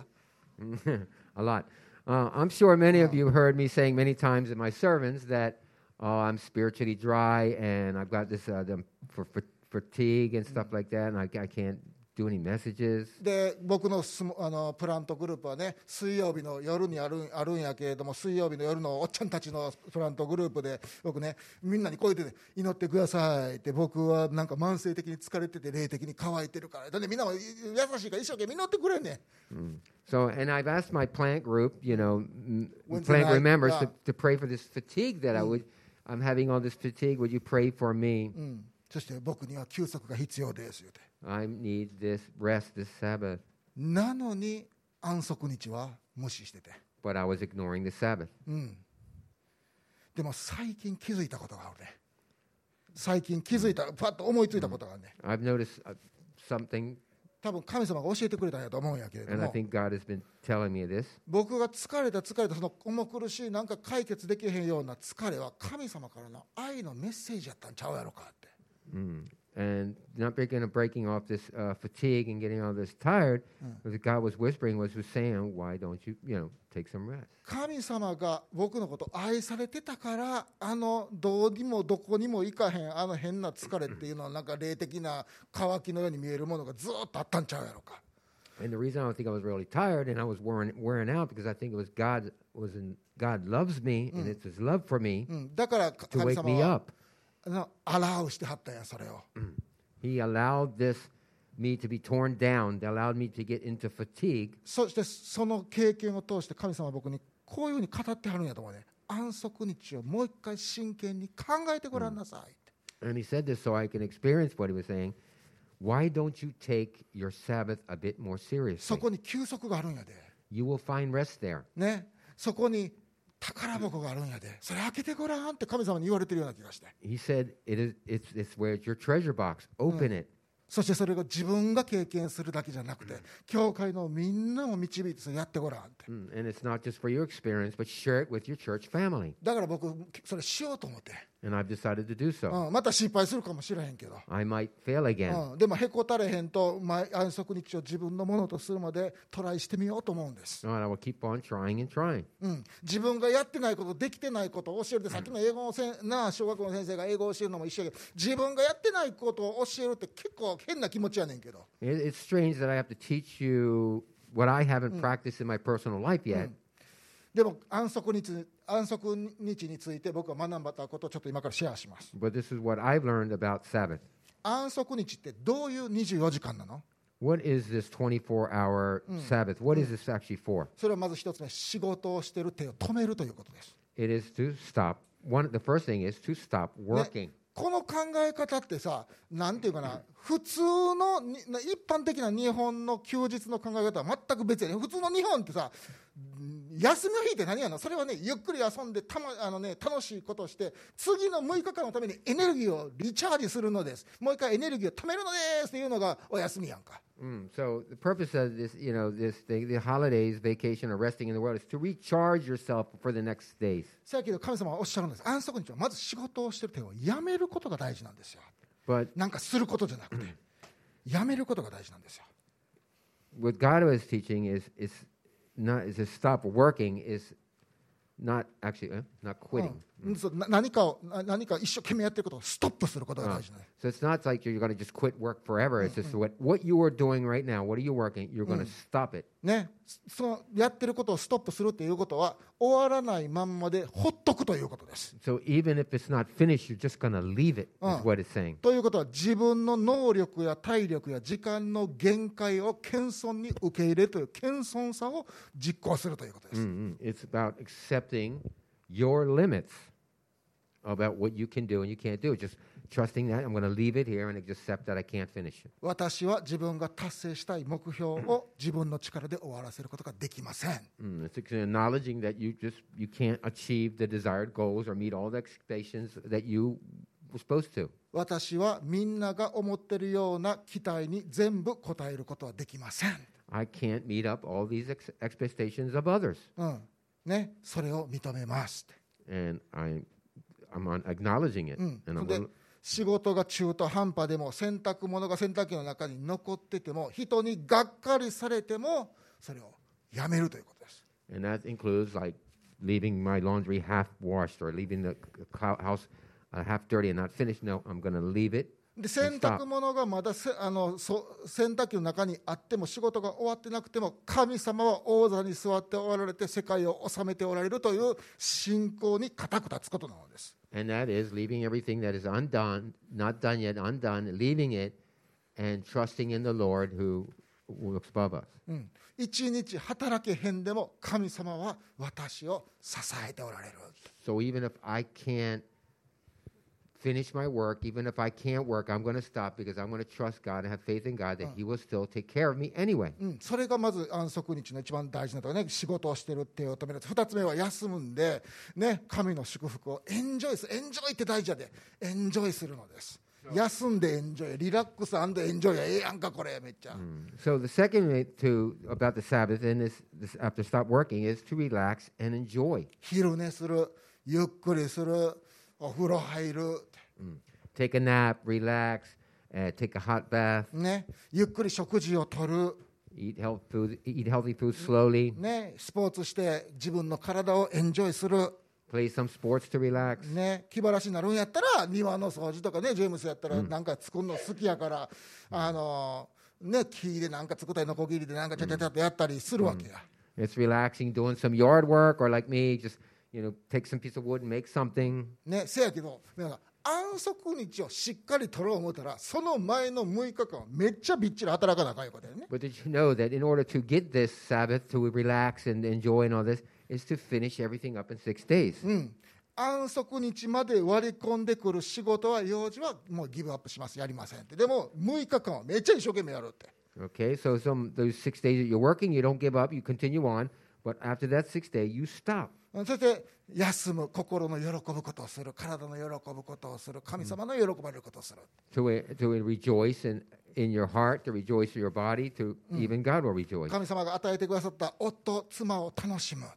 A lot. I'm sure many of you heard me saying many times in my sermons that I'm spiritually dry and I've got this fatigue and stuff like that, and I can't do any messages. で僕のプラントグループはね、水曜日の夜にあるんやけれども、水曜日の夜のおっちゃんたちのプラントグループで僕ね、みんなにこう言って、ね、祈ってくださいって、僕はなんか慢性的に疲れてて霊的に乾いてるから、だってみんなも優しいから一生懸命祈ってくれんねん。 So, and I've asked my plant group, Wednesday plant group night, members yeah. to pray for this fatigue that I'm having all this fatigue. Would you pray for me? そして僕には休息が必要です言うて。 I need this rest, this Sabbath. なのに安息日は無視してて。 But I was ignoring the Sabbath. でも最近気づいたことがあるね。最近気づいた、パッと思いついたことがあるね。 I've noticed something 多分神様が教えてくれたんやと思うんやけれど And I も、 think God has been telling me this. 僕が疲れたその重苦しいなんか解決できへんような疲れは神様からの愛のメッセージやったんちゃうやろかって。 And not breaking off this fatigue and getting all this tired, what God was whispering was saying, why don't you, take some rest? 神様が僕のこと愛されてたから、どうにもどこにも行かへん変な疲れっていうのはなんか霊的な渇きのように見えるものがずっとあったんちゃうやろか。 And the reason I don't think I was really tired and I was wearing out because I think it was God loves me and it's His love for me だから to 神 wake 様 me は up. アラウしてはったんや、それを。 He allowed me to be torn down, allowed me to get into fatigue. そしてその経験を通して神様は僕にこういうふうに語ってはるんやと思うね。安息日をもう一回真剣に考えてごらんなさいって。 And he said this so I can experience what he was saying. Why don't you take your Sabbath a bit more そ seriously? こに休息があるんやで。 You will find rest there. ね。そこに宝箱があるんやで。それ開けてごらんって神様に言われてるような気がして。 He said, it's where it's your treasure box. Open it. そしてそれが自分が経験するだけじゃなくて、教会のみんなも導いてそれやってごらんって。 And it's not just for your experience, but share it with your church family. だから僕それしようと思って。 And I've decided to do so. また失敗するかもしれへんけど。 I might fail again. でもへこたれへんと安息日を自分のものとするまでトライしてみようと思うんです。 No, I will keep on trying and trying. 自分がやってないことできてないことを教えるで、さっきの英語の小学校の先生が英語を教えるのも一緒やけど、自分がやってないことを教えるって結構変な気持ちやねんけど。 It's strange that I have to teach you what I haven't practiced in my personal life yet. でも安息日について僕は学んだことをちょっと今からシェアします。 But this is what I've learned about Sabbath. 安息日ってどういう24時間なの？ What is this 24-hour Sabbath? What is this actually for? それはまず一つ目、仕事をしている手を止めるということです。 It is to stop. The first thing is to stop working. この考え方ってさ、なんていうかな、普通の一般的な日本の休日の考え方は全く別やね。普通の日本ってさ、休みの日って何やの？それはね、ゆっくり遊んで楽しいことをして次の6日間のためにエネルギーをリチャージするのです。もう一回エネルギーを貯めるのですっていうのがお休みやんか。 So the purpose of this, the holidays, vacation, or resting in the world is to recharge yourself for the next days. さっきの神様はおっしゃるんです。安息日はまず仕事をしてる手をやめることが大事なんですよ。 But なんかすることじゃなくてやめることが大事なんですよ。 what God was teaching is to stop working is not actually not quitting. 何か一生懸命やってることをストップすることが大事なんです。 So it's not like you're going to just quit work forever. It's just what you are doing right now. What are you working? You're going to stop it. ね、そのやってることをストップするっていうことは終わらないまんまでほっとくということです。 So even if it's not finished, you're just going to leave it. Is what it's saying. ということは自分の能力や体力や時間の限界を謙遜に受け入れるという謙遜さを実行するということです。 It's about accepting your limits about what you can do and you can't do. Just trusting that I'm going to leave it here and accept that I can't finish it. 私は自分が達成したい目標を自分の力で終わらせることができません。 It's acknowledging that you can't achieve the desired goals or meet all the expectations that you were supposed to. 私はみんなが思っているような期待に全部応えることはできません。 I can't meet up all these expectations of others. ね、それを認めます。 And I'm acknowledging it. And で仕事が中途半端でも洗濯物が洗濯機の中に残ってても人にがっかりされてもそれをやめるということです。 And that includes like leaving my laundry half washed or leaving the house half dirty and not finished. No, I'm going to leave it. で洗濯物がまだ洗濯機の中にあっても仕事が終わってなくても神様は王座に座っておられて世界を治めておられるという信仰に固く立つことなのです。 And that is leaving everything that is undone, not done yet, undone, leaving it and trusting in the Lord who looks above us. 一日働けへんでも神様は私を支えておられる。 So even if I can't finish my work, even if I can't work, I'm going to stop because I'm going to trust God and have faith in God that He will still take care of me anyway. それがまず安息日の一番大事なところね。仕事をしてる手を止める。二つ目は休むんで、ね、神の祝福をエンジョイって大事やでエンジョイするのです。 休んでエンジョイ、リラックスエンジョイやええやんかこれめっちゃ。 So the second way about the Sabbath and this after stop working is to relax and enjoy. 昼寝する、ゆっくりする、お風呂入る、 Take a nap, relax, take a hot bath, ね、ゆっくり食事をとる、 eat healthy food slowly, ね、スポーツして自分の体をエンジョイする。 play some sports to relax. ね、気晴らしになるんやったら庭の掃除とかね、ジェームスやったらなんか作るの好きやから、ね、木でなんか作ったりノコギリでなんかちゃちゃちゃっとやったりするわけや。 It's relaxing, doing some yard work, or like me, just take some piece of wood and make something. ね、せやけど皆さん安息日をしっかり取ろう思ったらその前の6日間めっちゃびっちり働かなあかんいうことやね。 But did you know that in order to get this Sabbath, to relax and enjoy and all this, is to finish everything up in 6 days. 安息日まで割り込んでくる仕事は用事はもうギブアップします、やりませんって。でも6日間はめっちゃ一生懸命やるって。 Okay, so those 6 days that you're working, you don't give up, you continue on. But after that 6th day, you stop. そして休む、心の喜ぶことをする、体の喜ぶことをする、神様の喜ばれることをする。 To rejoice in your heart, to rejoice in your body, to even God will rejoice. 神様が与えてくださった夫、妻を楽しむって。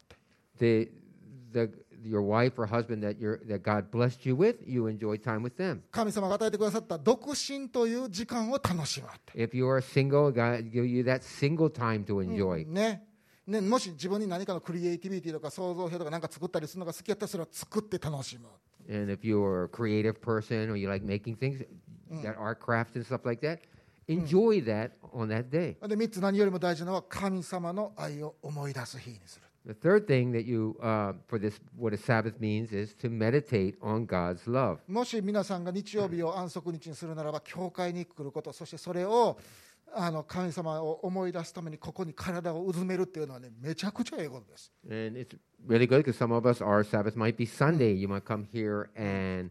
Your wife or husband that God blessed you with, you enjoy time with them. 神様が与えてくださった独身という時間を楽しむって。 If you are single, God give you that single time to enjoy. ね、もし自分に何かのクリエイティビティとか創造性とか何か作ったりするのが好きやったらそれを作って楽しむ。 And if you're a creative person or you like making things, that art craft and stuff like that, enjoy that on that day. で3つ、何よりも大事なのは神様の愛を思い出す日にする。 The third thing that for this, what a Sabbath means is to meditate on God's love. もし皆さんが日曜日を安息日にするならば、教会に来ること、そしてそれを神様を思い出すためにここに体をうずめるっていうのはね、めちゃくちゃええことです。 And it's really good because some of us, our Sabbath might be Sunday. You might come here and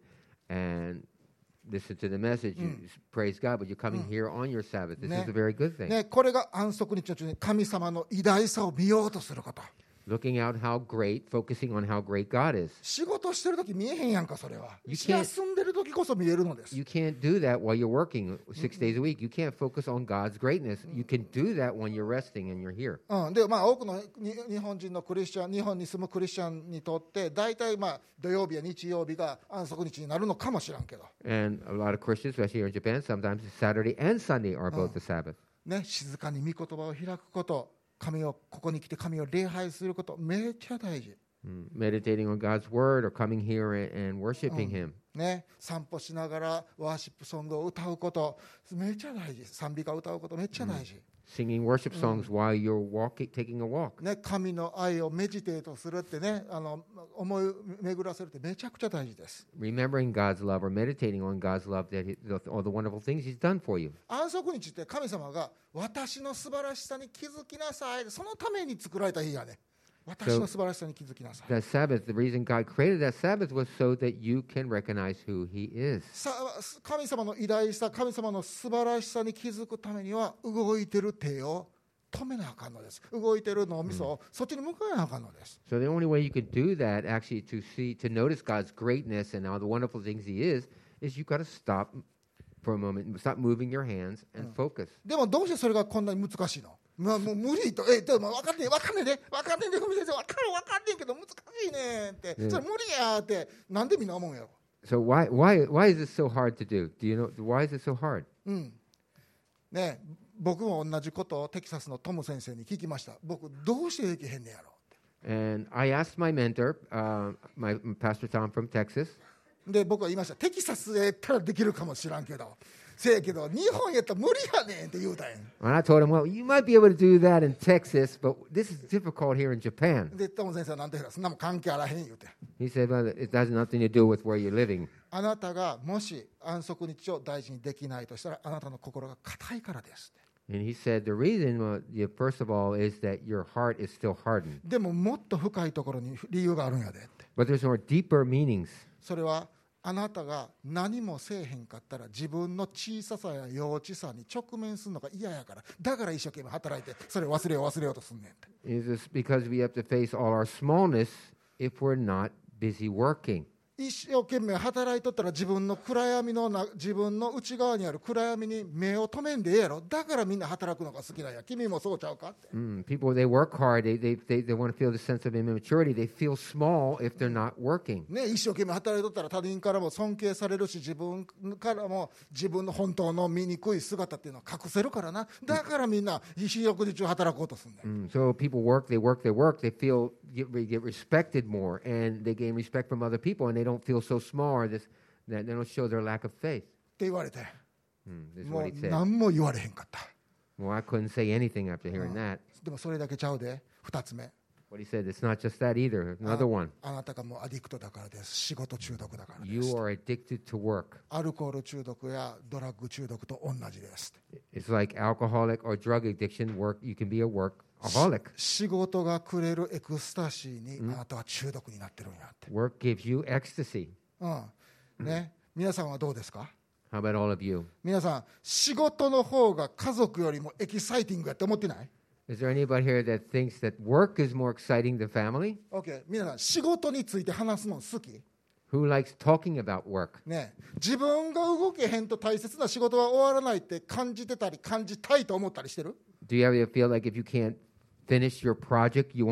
listen to the message. You praise God, but you're coming here on your Sabbath. This is a very good thing. ね、これが安息日の中に神様の偉大さを見ようとすること。 Looking out how great, focusing on how great God is. 仕事してるとき見えへんやんか、それは。 You can't- 休んでるときこそ見えるのです。 You can't do that while you're working 6 days a week. You can't focus on God's greatness. You can do that when you're resting and you're here. で多くの日本人のクリスチャン、日本に住むクリスチャンにとって大体土曜日や日曜日が安息日になるのかもしれんけど、 And a lot of Christians, especially here in Japan, sometimes Saturday and Sunday are both the Sabbath. ね、静かに御言葉を開くこと、ここに来て神を礼拝すること、めっちゃ大事。 Meditating on God's word or coming here and worshiping Him. ね、散歩しながらワーシップソングを歌うこと、めっちゃ大事。賛美歌を歌うこと、めっちゃ大事。 Singing worship songs while you're taking a walk. ね、神の愛をメディテートするってね、思い巡らせるってめちゃくちゃ大事です。 Remembering God's love or meditating on God's love, all the wonderful things He's done for you. 安息日って神様が私の素晴らしさに気づきなさい、そのために作られた日やね。私の素晴らしさに気づきなさい。 That Sabbath, the reason God created that Sabbath was so that you can recognize who He is. 神様の偉大さ、神様の素晴らしさに気づくためには動いてる手を止めなあかんのです。動いてる脳みそをそっちに向かなあかんのです。 So the only way you could do that, actually, to notice God's greatness and all the wonderful things He is you got to stop for a moment, stop moving your hands and focus. でもどうしてそれがこんなに難しいの？もう無理と、でも分かんねえで、ふみ先生、分かんねえけど難しいねって、それ無理やって、なんでみんな思うんやろ。 So why is this so hard to do? Do you know why is it so hard? ね、僕も同じことをテキサスのトム先生に聞きました。僕どうしてできへんねやろって。 And I asked my mentor, my Pastor Tom from Texas. で僕は言いました。テキサスへ行ったらできるかもしらんけど、せやけど日本やったら無理やねんって言うたんや。 And I told him, well, you might be able to do that in Texas, but this is difficult here in Japan. でトム先生は何て言うか、そんなもん関係あらへん言うて。 He said, well, it has nothing to do with where you're living. あなたがもし安息日を大事にできないとしたら、あなたの心が硬いからですって。 And he said, the reason, first of all, is that your heart is still hardened. でももっと深いところに理由があるんやでって。 But there's more deeper meanings. それはあなたが何もせえへんかったら自分の小ささや幼稚さに直面するのが嫌やから、だから一生懸命働いてそれを忘れようとすんねんって。 Is this because we have to face all our smallness if we're not busy working? 一生懸命働いとったら自分の暗闇の自分の内側にある暗闇に目を止めんでええやろ。だからみんな働くのが好きなんや。君もそうちゃうかって。 People, they work hard. They want to feel the sense of immaturity. They feel small if they're not working. ね、一生懸命働いとったら他人からも尊敬されるし、自分からも自分の本当の醜い姿っていうのを隠せるからな。だからみんな四六時中働こうとするんだよ。 So people work, they work, they work. They get respected more, and they gain respect from other people, and they don't feel so small or that they don't show their lack of faith. って言われて、 This is も what う he said. 何も言われへんかった。 Well, I couldn't say anything after hearing that. でもそれだけちゃうで。二つ目。 What he said, it's not just that either. Another one. あなたがもうアディクトだからです。仕事中毒だからです。 You are addicted to work. アルコール中毒やドラッグ中毒と同じです。 It's like alcoholic or drug addiction. You can be a workaholic. 仕事がくれるエクスタシーにあなたは中毒になってるんやって。 Work gives you ecstasy. ね、皆さんはどうですか？ How about all of you? 皆さん、仕事の方が家族よりもエキサイティングやって思ってない？ Is there anybody here that thinks that work is more exciting than family? OK、皆さん、仕事について話すの好き？ Who likes talking about work? ね、自分が動けへんと大切な仕事は終わらないって感じてたり感じたいと思ったりしてる？ Do you ever feel like if you can't finish your project, your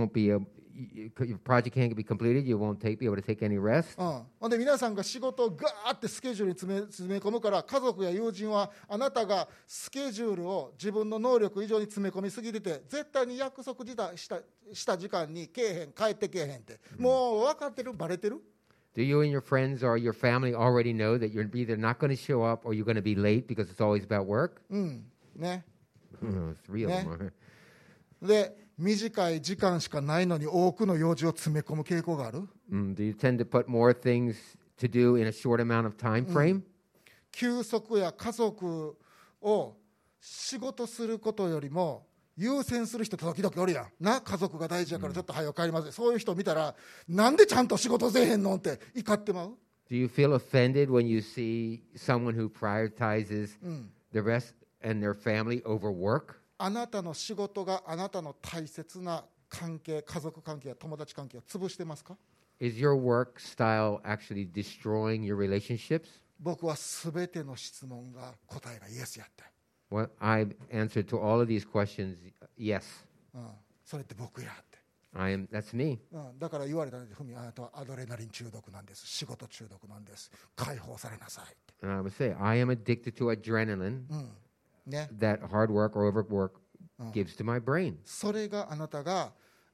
project can't be completed, you won't be able to take any rest? ほんで皆さんが仕事をガーってスケジュールに詰め込むから、家族や友人はあなたがスケジュールを自分の能力以上に詰め込みすぎてて、絶対に約束した時間に帰ってけえへんって、もう分かってる？バレてる ？Do you and your friends or your family already know that you're either not going to show up or you're going to be late because it's always about work? ね。 Three of them are. で、短い時間しかないのに多くの用事を詰め込む傾向がある。 Do you tend to put more things to do in a short amount of time frame? 休息や家族を仕事することよりも優先する人時々おるやんな。家族が大事やからちょっと早く帰ります、そういう人見たら、なんでちゃんと仕事せえへんのって怒ってまう。 Do you feel offended when you see someone who prioritizes the rest and their family over work? あなたの仕事があなたの大切な関係、家族関係や友達関係を潰してますか？ Is your work style actually destroying your relationships? 僕はすべての質問が答えがイエスやって。 Well, I've answered to all of these questions, yes. それって僕やって。 That's me. だから言われたので、ふみ、あなたはアドレナリン中毒なんです。仕事中毒なんです。解放されなさいって。 And I would say, I am addicted to adrenaline ね。 that hard work or overwork gives to my brain. それがあなたが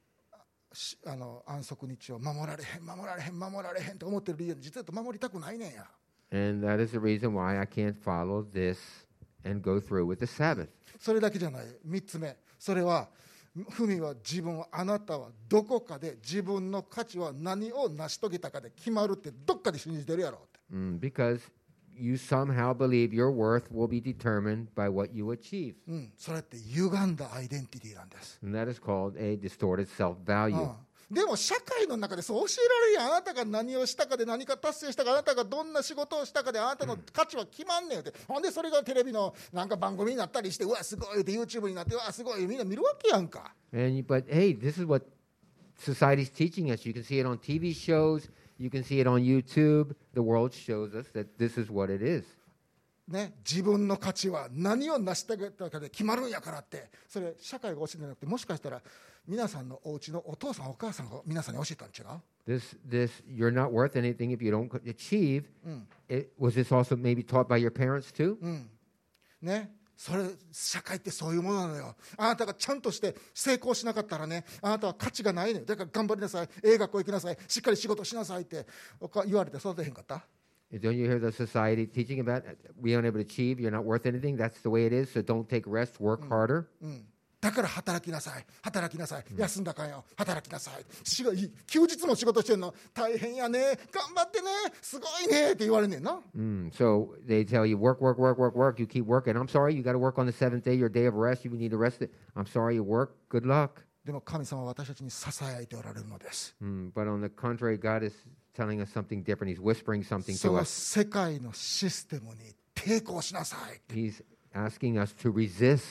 安息日を守られへんと思ってる理由に、実は守りたくないねんや。 And that is the reason why I can't follow this and go through with the Sabbath. それだけじゃない。3つ目、それはふみはあなたはどこかで自分の価値は何を成し遂げたかで決まるってどっかで信じてるやろって。 Because you somehow believe your worth will be determined by what you achieve. それって歪んだアイデンティティなんです。 And that is called a distorted self-value. でも社会の中でそう教えられるやん。あなたが何をしたかで何か達成したか、あなたがどんな仕事をしたかであなたの価値は決まんねんって。ほんでそれがテレビのなんか番組になったりして、うわすごいって YouTube になって、うわすごいみんな見るわけやんか。 But hey, this is what society's teaching us. You can see it on TV shows. You can see it on YouTube. The world shows us that this is what it is. ね、自分の価値は何を成し遂げたかで決まるんやからって、それ社会が教えてなくて、もしかしたら皆さんのお家のお父さんお母さんが皆さんに教えたん違う？ You're not worth anything if you don't achieve. Was this also maybe taught by your parents too? ね、それ社会ってそういうものなのよ。あなたがちゃんとして成功しなかったらね、あなたは価値がないのよ。だから頑張りなさい、学校行きなさい、しっかり仕事しなさいって言われて育てへんかった？ Don't you hear the society teaching about we aren't able to achieve, you're not worth anything, that's the way it is, so don't take rest, work harder? だから働きなさい、休んだかんよ、働きなさい。休日も仕事してんの大変やね、頑張ってね、すごいねって言われんねんな。 So they tell you work, you keep working. I'm sorry, you got to work on the seventh day, your day of rest, you need to rest it. I'm sorry, you work, good luck. でも神様は私たちに支えておられるのです。 But on the contrary, God is telling us something different. He's whispering something そ to の us. 世界のシステムに抵抗しなさい。 He's asking us to resist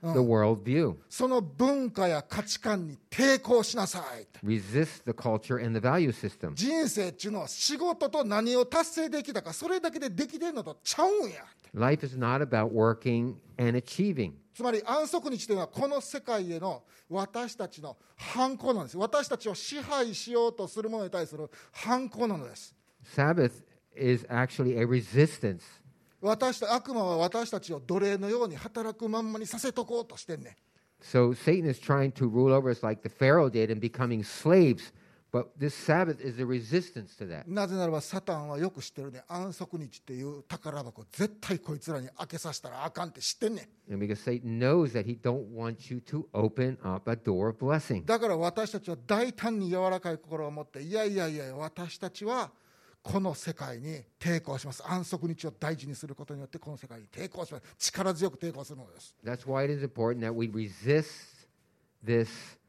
the world view. その文化や価値観に抵抗しなさい。 Resist the culture and the value system. 人生っていうのは仕事と何を達成できたか、それだけでできてるのとちゃうんや。 Life is not about working and achieving. つまり安息日というのはこの世界への私たちの反抗なんです。私たちを支配しようとするものに対する反抗なのです。 Sabbath is actually a resistance. 悪魔は私たちを奴隷のように働くまんまにさせとこうとしてんねん。 So Satan is trying to rule over us like the Pharaoh did and becoming slaves. But this Sabbath is a resistance to that. なぜならばサタンはよく知ってるね。安息日っていう宝箱絶対こいつらに開けさせたらあかんって知ってんねん。 And because Satan knows that he don't want you to open up a door of blessing. だから私たちは大胆に柔らかい心を持って、いや私たちはこの世界に抵抗します。安息日を大事にすることによってこの世界に抵抗します。力強く抵抗するのです。 That's why it is important that we resist this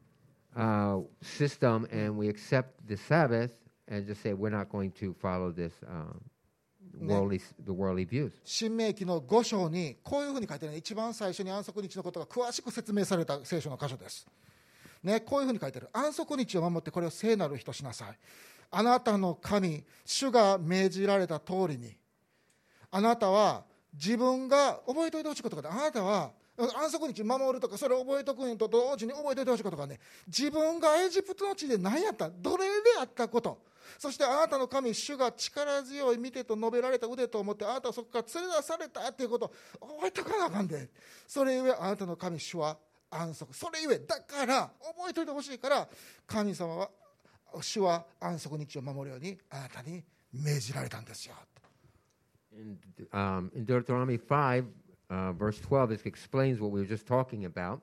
system and we accept the Sabbath and just say we're not going to follow this the worldly views. 新明記の5章にこういうふうに書いてあるね。一番最初に安息日のことが詳しく説明された聖書の箇所です。ね、こういうふうに書いてある。安息日を守ってこれを聖なる日としなさい。あなたの神、主が命じられた通りに、あなたは自分が覚えておいてほしいことが、あなたは安息日守るとか、それを覚えておくのと同時に覚えておいてほしいことがね、自分がエジプトの地で何やった、奴隷であったこと、そしてあなたの神、主が力強い見てと述べられた腕と思って、あなたはそこから連れ出されたということを覚えておかなあかんで。それゆえあなたの神、主は安息。それゆえだから覚えておいてほしいから、神様は主は安息日を守るようにあなたに命じられたんですよ。 In Deuteronomy 5, verse 12, it explains what we were just talking about.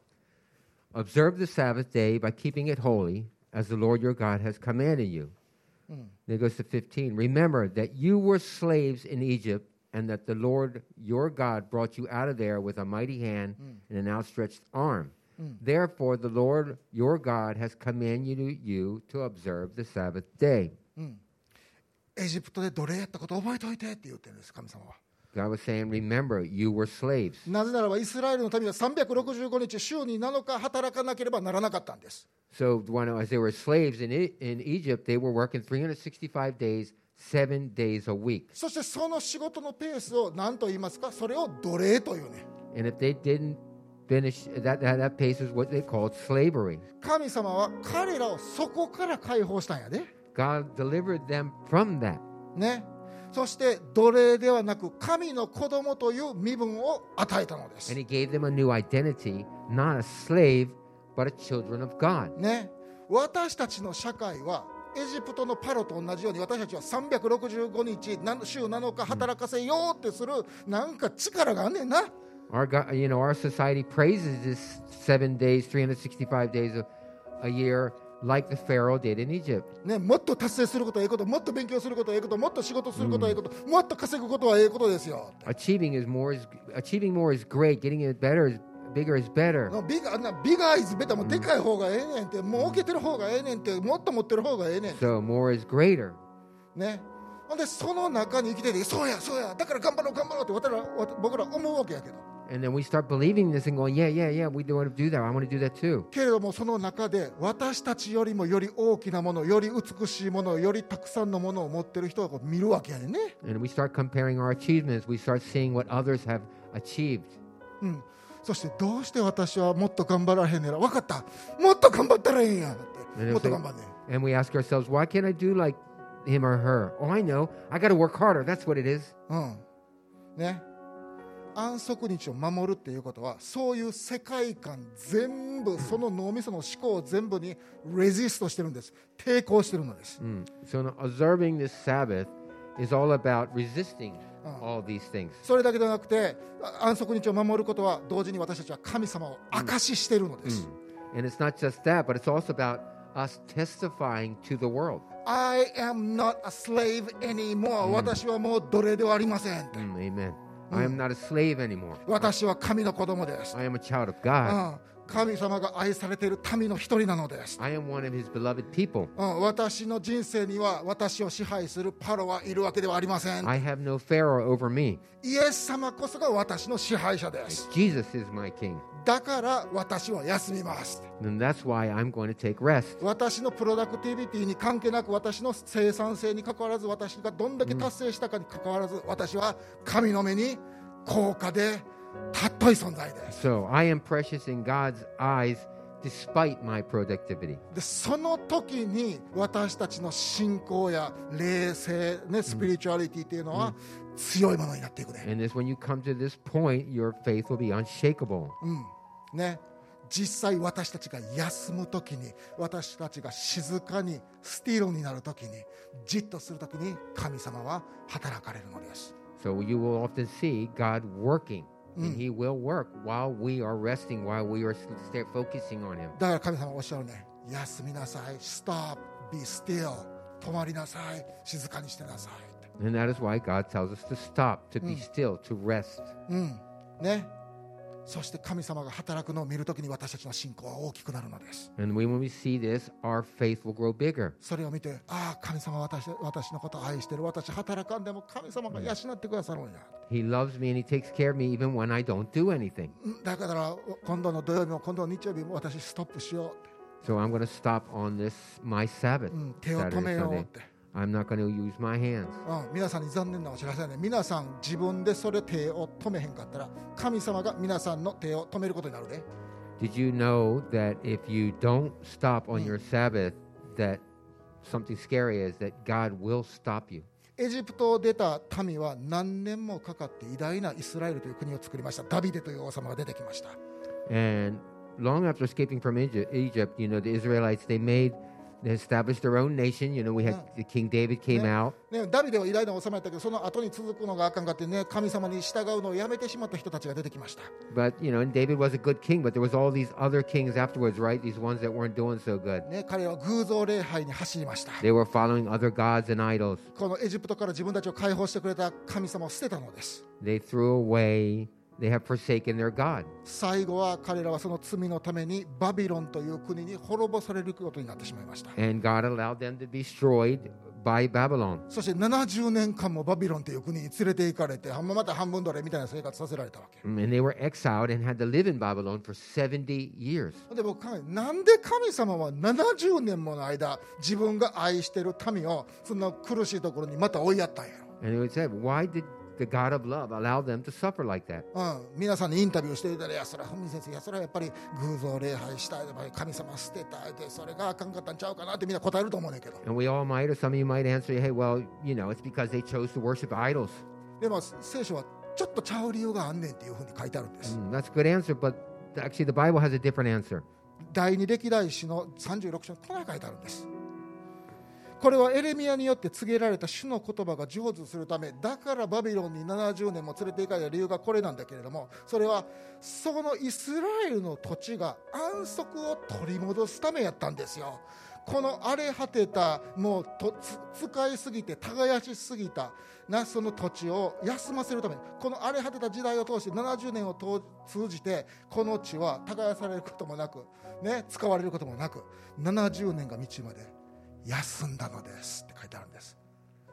Observe the Sabbath day by keeping it holy, as the Lord your God has commanded you. Then it goes to 15. Remember that you were slaves in Egypt, and that the Lord your God brought you out of there with a mighty hand and an outstretched arm. Therefore, the Lord your God has commanded you to observe the Sabbath day. エジプトで奴隷やったことを覚えておいてって言ってるんです、神様は。 God was saying, remember, you were slaves. なぜならばイスラエルの民は365日週に7日働かなければならなかったんです。 So as they were slaves in Egypt, they were working 365 days, 7 days a week. そしてその仕事のペースを何と言いますか、それを奴隷というね。 And if they didn't finish, that pace is what they called slavery. 神様は彼らをそこから解放したんやで。 God delivered them from that. ね。そして奴隷ではなく神の子供という身分を与えたのです。 And he gave them a new identity, not a slave, but a children of God. ね。私たちの社会はエジプトのパロと同じように、私たちは365日週7日働かせようってするなんか力があんねんな。 Our God, our society praises this 7 days, 365 days a year, like the Pharaoh did in Egypt. ね、もっと達成することはええこと、もっと勉強することはええこと、もっと仕事することはええこと、もっと稼ぐことはええことですよ。 Achieving more is great. Getting it bigger is better. ビガーイズベター、もうでかい方がええねんって、もうけてる方がええねんって、もっと持ってる方がええねんって。 So more is greater. ね。ほんでその中に生きてて、そうやだから頑張ろうって僕ら思うわけやけど。 And then we start believing this and going, yeah, we want to do that. I want to do that too. けれどもその中で私たちよりもより大きなもの、より美しいもの、よりたくさんのものを持ってる人をこう見るわけやねんね。 And we start comparing our achievements. We start seeing what others have achieved. そしてどうして私はもっと頑張らへんねら、分かった、もっと頑張ったらいいんやってもっと頑張んねん。 And we ask ourselves, why can't I do like him or her? Oh, I know. I got to work harder. That's what it is. ね。安息日を守るっていうことは、そういう世界観全部、その脳みその思考を全部にレジストしてるんです。抵抗してるのです。 So observing this Sabbath is all about resisting all these things. それだけではなくて、安息日を守ることは同時に私たちは神様を証ししているのです。 And it's not just that, but it's also about us testifying to the world. I am not a slave anymore. 私はもう奴隷ではありません。 Amen. I am not a slave anymore. 私は神の子供です。 I am a child of God. 神様が愛されている民の一人なのです。 I am one of his beloved people. 私の人生には私を支配するパロはいるわけではありません。 I have no Pharaoh over me. イエス様こそが私の支配者です。 Jesus is my king. だから私は休みます。 And that's why I'm going to take rest. 私のプロダクティビティに関係なく、私の生産性に関わらず、私がどんだけ達成したかに関わらず、私は神の目に高価で尊い存在です。 So I am precious in God's eyes despite my productivity. でその時に私たちの信仰や霊性、ね、スピリチュアリティっていうのは強いものになっていくね。 And this, when you come to this point, your faith will be unshakable. ね、実際私たちが休む時に、私たちが静かにスティールになる時に、じっとする時に神様は働かれるのです。 So you will often see God working, and He will work while we are resting, while we are focusing on Him. だから神様はおっしゃるね、休みなさい、stop, be still、止まりなさい、静かにしてなさい。 And that is why God tells us to stop, to be still, to rest. ね、そして神様が働くのを見るときに私たちの信仰は大きくなるのです。 And when we see this, our faith will grow bigger. それを見て、ああ神様は私のことを愛してる、私働かんでも神様が養ってくださるんや。 He loves me and He takes care of me even when I don't do anything. だから今度の土曜日も今度の日曜日も私ストップしよう。 So I'm going to stop on this, my Sabbath, 手を止 Saturday, めよう Sunday. って。 I'm not going to use my hands. 皆さんに残念なお知らせだね。皆さん自分でそれ手を止めへんかったら、神様が皆さんの手を止めることになるで。 Did you know that if you don't stop on your Sabbath, that something scary is that God will stop you? エジプトを出た民は何年もかかって偉大なイスラエルという国を作りました。ダビデという王様が出てきました。 And long after escaping from Egypt, you know, the Israelites, they established their own nation. You know, we had King David came out. ね、ダビデは偉大な王様やったけど、その後に続くのがあかんかってね、神様に従うのをやめてしまった人たちが出てきました。 But, you know, and David was a good king, but there was all these other kings afterwards, right? These ones that weren't doing so good. ね、彼らは偶像礼拝に走りました。 They were following other gods and idols. このエジプトから自分たちを解放してくれた神様を捨てたのです。 They threw away, they have forsaken their God. 最後は彼らはその罪のためにバビロンという国に滅ぼされることになってしまいました。 And God allowed them to be destroyed by Babylon. そして70年間もバビロンという国に連れて行かれて、また半分奴隷みたいな生活させられたわけ。 And they were exiled and had to live in Babylon for 70 years. で僕考え、なんで神様は70年もの間自分が愛している民をそんな苦しいところにまた追いやったんやろ。 And it said, why did the God of love allow them to suffer like that? 皆さんにインタビューしていたら、いやそれは文先生、いやそれはやっぱり偶像礼拝したい、やっぱり神様捨てたいで、それがあかんかったんちゃうかなってみんな答えると思うねんけど、 And we all might, or some of you might answer, hey, well, you know, it's because they chose to worship idols. でも聖書はちょっとちゃう理由があんねんっていうふうに書いてあるんです。 That's a good answer, but actually the Bible has a different answer. 第二歴代史の36章にこう書いてあるんです。これはエレミヤによって告げられた主の言葉が成就するため、だからバビロンに70年も連れて行かれた理由がこれなんだけれども、それはそのイスラエルの土地が安息を取り戻すためやったんですよ。この荒れ果てた、もう使いすぎて耕しすぎたなその土地を休ませるために、この荒れ果てた時代を通して70年を通じてこの地は耕されることもなく、ね、使われることもなく、70年が道まで休んだのですって書いてあるんです。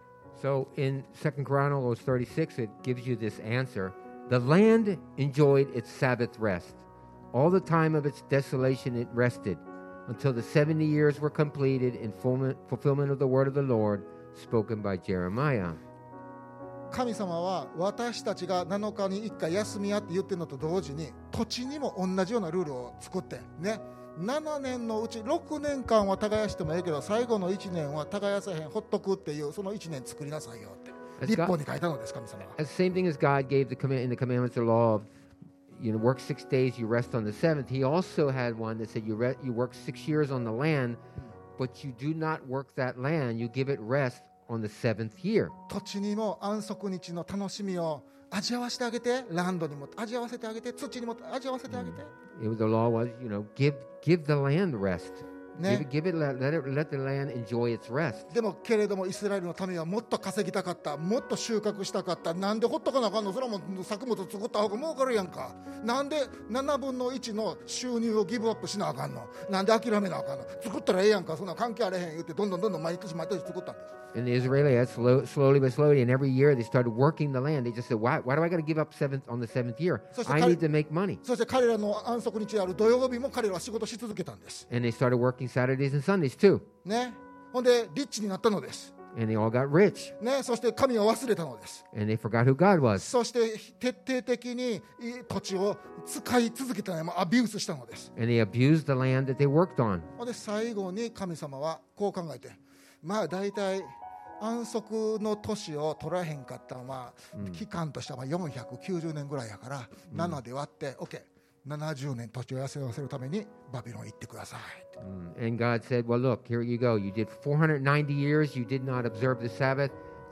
So in 2 Chronicles 36, it gives you this answer. The land enjoyed its Sabbath rest. All the time of its desolation it rested, until the 70 years were completed in fulfillment of the word of the Lord spoken by Jeremiah. 神様は私たちが7日に1回休みやって言ってるのと同時に、土地にも同じようなルールを作ってね、7年のうち6年間は耕してもいいけど、最後の1年は耕さへん、ほっとくっていう、その1年作りなさいよって立法に書いたのです。神様は The same thing as God gave in the commandments of the law of, you know, work 6 days, you rest on the seventh. He also had one that said you work 6 years on the land, but you do not work that land. You give it rest on the seventh year. 土地にも安息日の楽しみを味わわせてあげて、ランドにも味わわせてあげて、土にも味わわせてあげて、 The law was, you know, give the land rest. ね Give it, let the land enjoy its rest. でもけれどもイスラエルの民はもっと稼ぎたかった、もっと収穫したかった。なんでほっとかなあかんの？それはもう作物作った方が儲かるやんか。なんで7分の1の収入をギブアップしなあかんの？なんで諦めなあかんの？作ったらええやんか。そんな関係あれへん言ってどんどん毎年作ったんです。 And the Israelites, slowly but slowly, and every year they started working the land. They just said, why do I got to give up on the seventh year? I need to make money. そして彼らの安息日である土曜日も彼らは仕事し続けたんです。 And they started working Saturdays and Sundays too. ね、ほんでリッチになったのです。 And they all got rich. ね、そして神を忘れたのです。 And they forgot who God was. そして徹底的に土地を使い続けたのでアビュースしたのです。 And they abused the land that they worked on. ほんで最後に神様はこう考えて、まあ大体安息の年を取らへんかったのは、期間としては490年ぐらいやから、7で割って OK70 年土地を休ませるためにバビロン行ってください。 And God said, well, look, here you go. You did 490 years. You did not observe the Sabbath.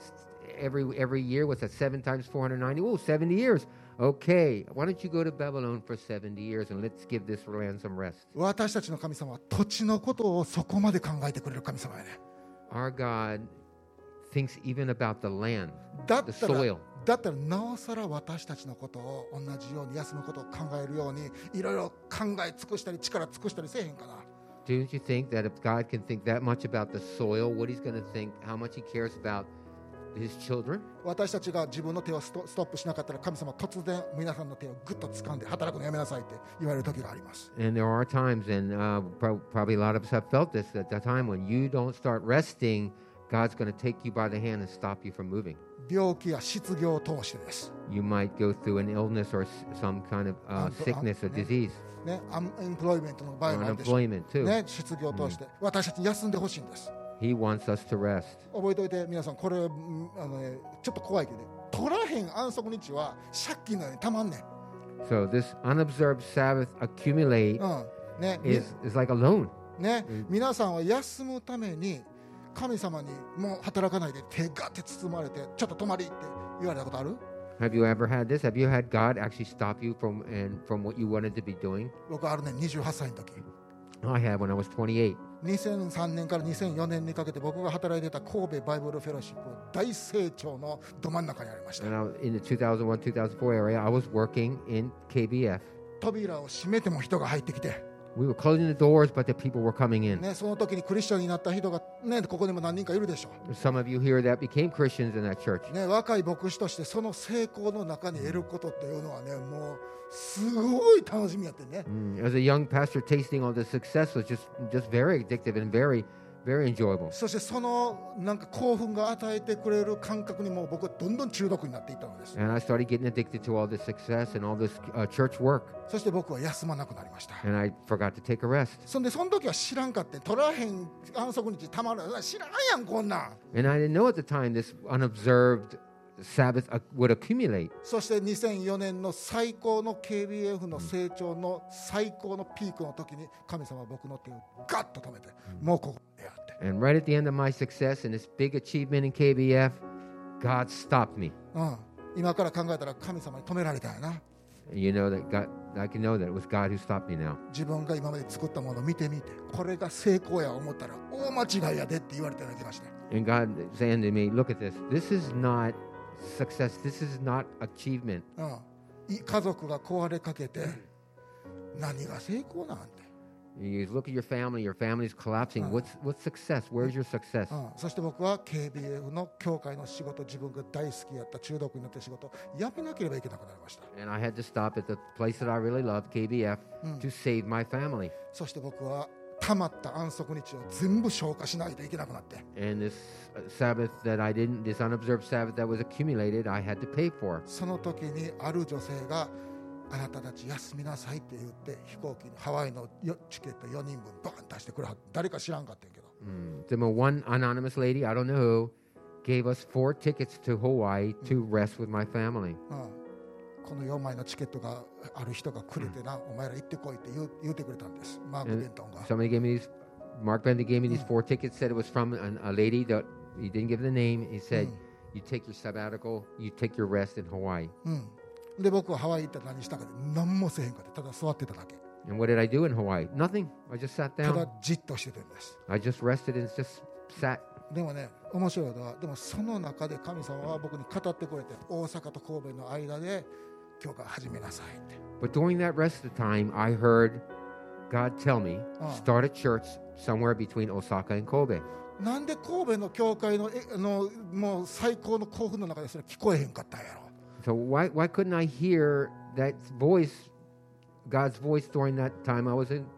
Every year, what's that? 7 times 490? Oh, 70 years. Okay, why don't you go to Babylon for 70 years and let's give this land some rest. 私たちの神様は土地のことをそこまで考えてくれる神様やね。 Our God thinks even about the land, だっ the たら soil. だったらなおさら私たちのことを同じように休むことを考えるようにいろいろ考え尽くしたり力尽くしたりせえへんかな。 Don't you think that if God can think that much about the soil, what he's going to think, how much he cares about his children? 私たちが自分の手をストップしなかったら神様は突然皆さんの手をグッと掴んで働くのやめなさいって言われる時があります。 And there are times, and probably a lot of us have felt this, at the time when you don't start resting, God's going to take you by the hand and stop you from moving. 病気や失業を通してです。 You might go through an illness or some kind of sickness or disease, ね、アンエンプロイメントの場合 or もあるでしょう。 unemployment too. ね、失業を通して、私たちに休んでほしいんです。 He wants us to rest. 覚えておいて皆さん、これ、ちょっと怖いけど、取らへん安息日は借金のようにたまんねん。 So this unobserved Sabbath accumulate ね、 is like a loan. ね、皆さんは休むために神様にもう働かないで手がって包まれてちょっと泊まりって言われたことある？ Have you ever had this? Have you had God actually stop you from what you wanted to be doing? 僕あるね、28歳の時。 I had when I was 28. 2003年から2004年にかけて僕が働いてた神戸バイブルフェローシップ大成長のど真ん中にありました。 And in the 2001-2004 area, I was working in KBF. 扉を閉めても人が入ってきて、 We were closing the doors, but the people were coming in. ね、その時にクリスチャンになった人が、ね、ここにも何人かいるでしょ Some of you here that became Christians in that church. う、ね、若い牧師としてその成功の中に得ることっていうのはね、もうすごい楽しみやってね。 As a young pastor, tasting all the success was just very addictive and very, very enjoyable. そしてそのなんか興奮が与えてくれる感覚にもう僕はどんどん中毒になっていったのです。 And I started getting addicted to all this success and all this church work. そして僕は休まなくなりました。 And I forgot to take a rest. そんでその時は知らんかって取らへん安息日たまる知らんやんこんなん。 And I didn't know at the time this unobserved Sabbath would accumulate. そして2004年の最高の KBF の成長の最高のピークの時に神様は僕の手をガッと止めて、もうここでやって、 And right at the end of my success and this big achievement in KBF, God stopped me. 今から考えたら神様に止められたんやな。 And you know that God, I can know that it was God who stopped me now. 自分が今まで作ったものを見てみて、これが成功や思ったら大間違いやでって言われていただきまして、 And God saying to me, look at this. This is not success. This is not achievement. 家族が壊れかけて何が成功なんて、 You look at your family's collapsing. What's success? Where's your success? そして僕は KBF の教会の仕事、自分が大好きやった中毒になった仕事やめなければいけなくなりました。 And I had to stop at the place that I really loved, KBF, to save my family. そして僕はたまった安息日を全部消化しないといけなくなって、 And this Sabbath that I didn't, this unobserved Sabbath that was accumulated, I had to pay for. その時にある女性があなたたち休みなさいって言って飛行機のハワイのチケット4人分バーン出してくれはって、誰か知らんかったんやけど、 Then one anonymous lady, I don't know who, gave us 4 tickets to Hawaii to rest with my family. この4枚のチケットがある人がくれてな、お前ら行ってこいって言ってくれたんです、マーク・ベントンが。 Somebody gave me these, Mark Bender gave me these 4 tickets, said it was from a lady that he didn't give the name. He said, you take your sabbatical, you take your rest in Hawaii. で僕はハワイ行ったら何したかで何もせへんかって、ただ座ってただけ。 And what did I do in Hawaii? Nothing. I just sat ただ down. じっとしててんです。 I just rested and just sat. でもね、面白いのは、でもその中で神様は僕に語ってくれて、大阪と神戸の間で教会を始めなさいって。 But during that rest of the time, I heard God tell me, start a church somewhere between Osaka and Kobe. なんで神戸の教会のもう最高の興奮の中でそれ聞こえへんかったんやろ。 So why couldn't I hear that voice, God's voice during that time I was in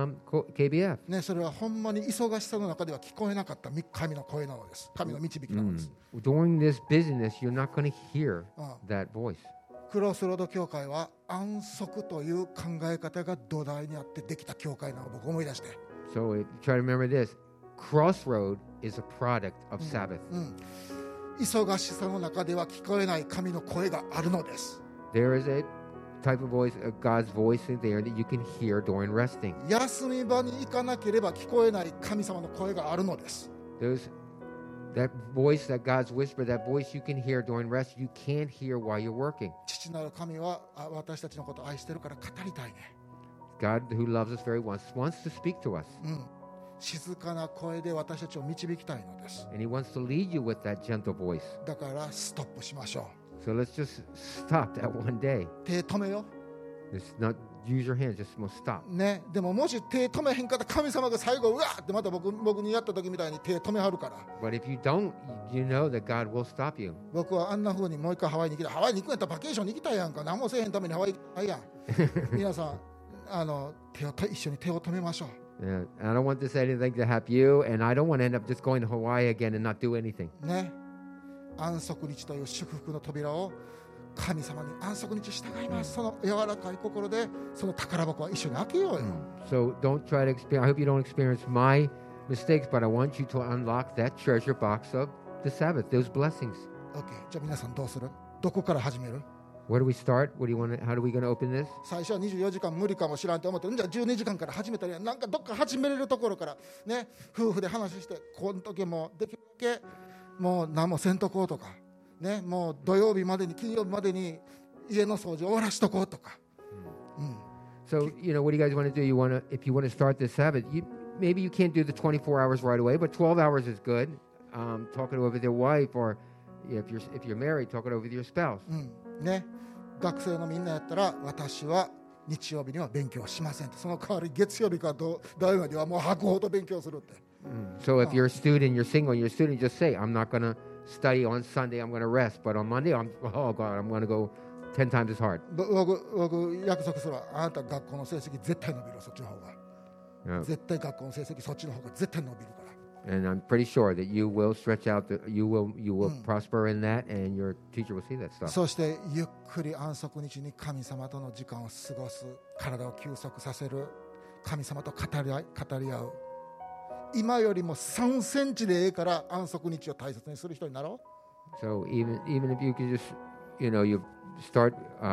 KBF? ね、それはほんまに忙しさの中では聞こえなかった神の声なのです。神の導きなのです。 During this busyness, you're not going to hear that voice. クロスロード教会は安息という考え方が土台にあってできた教会なのを僕思い出して。 So try to remember this. Crossroad is a product of Sabbath. 忙しさの中では聞こえない神の声があるのです。 There is a type of voice, God's voice in there that you can hear during resting. 休み場に行かなければ聞こえない神様の声があるのです。 There's that voice, that God's whisper, that voice you can hear during rest, you can't hear while you're working. 父なる神は私たちのことを愛してるから語りたいね。 God, who loves us very much, wants to speak to us. 静かな声で私たちを導きたいのです。 And He wants to lead you with that gentle voice. だからストップしましょ So let's just stop that one day. う。手止めよ。 Just not use your hands, just stop. ね、でももし手止めへんかったら神様が最後うわーってまた僕にやった時みたいに手止めはるから。 But if you don't, you know that God will stop you. 僕はあんな風にもう一回ハワイに行きたい。ハワイに行くんやったらバケーションに行きたいやんか。何もせえへんためにハワイ行きたいやん。皆さん一緒に手を止めましょう。 Yeah, I don't want this anything to happen you, and I don't want to end up just going to Hawaii again and not do anything. ね、安息日という祝福の扉を神様に安息日従います。その柔らかい心でその宝箱は一緒に開けようよ。 So don't try to experience. I hope you don't experience my mistakes, but I want you to unlock that treasure box of the Sabbath, those blessings. OK。じゃあ皆さんどうする？どこから始める？ Where do we start? What do you want? How are we going to open this? 最初は24時間無理かもしらんと思ってじゃあ12時間から始めたらなんかどっか始めれるところからね、夫婦で話してこの時もできるだけもう何もせんとこうとかね、もう土曜日までに金曜日までに家の掃除終わらしとこうとか。 So, what do you guys want to do? If you want to start this Sabbath, maybe you can't do the 24 hours right away, but 12 hours is good. Talk it over with your wife, or if you're married, talk it over with your spouse. ね、学生のみんなやったら私は日曜日には勉強しませんって、その代わり月曜日から土曜日まではもう吐くほど勉強するって。 So if you're a student, you're single, and you're a student, just say, I'm not going to study on Sunday, I'm going to rest, but on Monday, I'm going to go 10 times as hard. 僕約束するわ。あなた学校の成績絶対伸びる、そっちの方が。 Yeah. 絶対学校の成績そっちの方が絶対伸びるから。 And I'm pretty sure that you will stretch out, you will prosper in that, and your teacher will see that stuff. そしてゆっくり安息日に神様との時間を過ごす、体を休息させる、神様と語り合う。今よりも3センチでええから安息日を大切にする人になろう。 So even if you can just, you start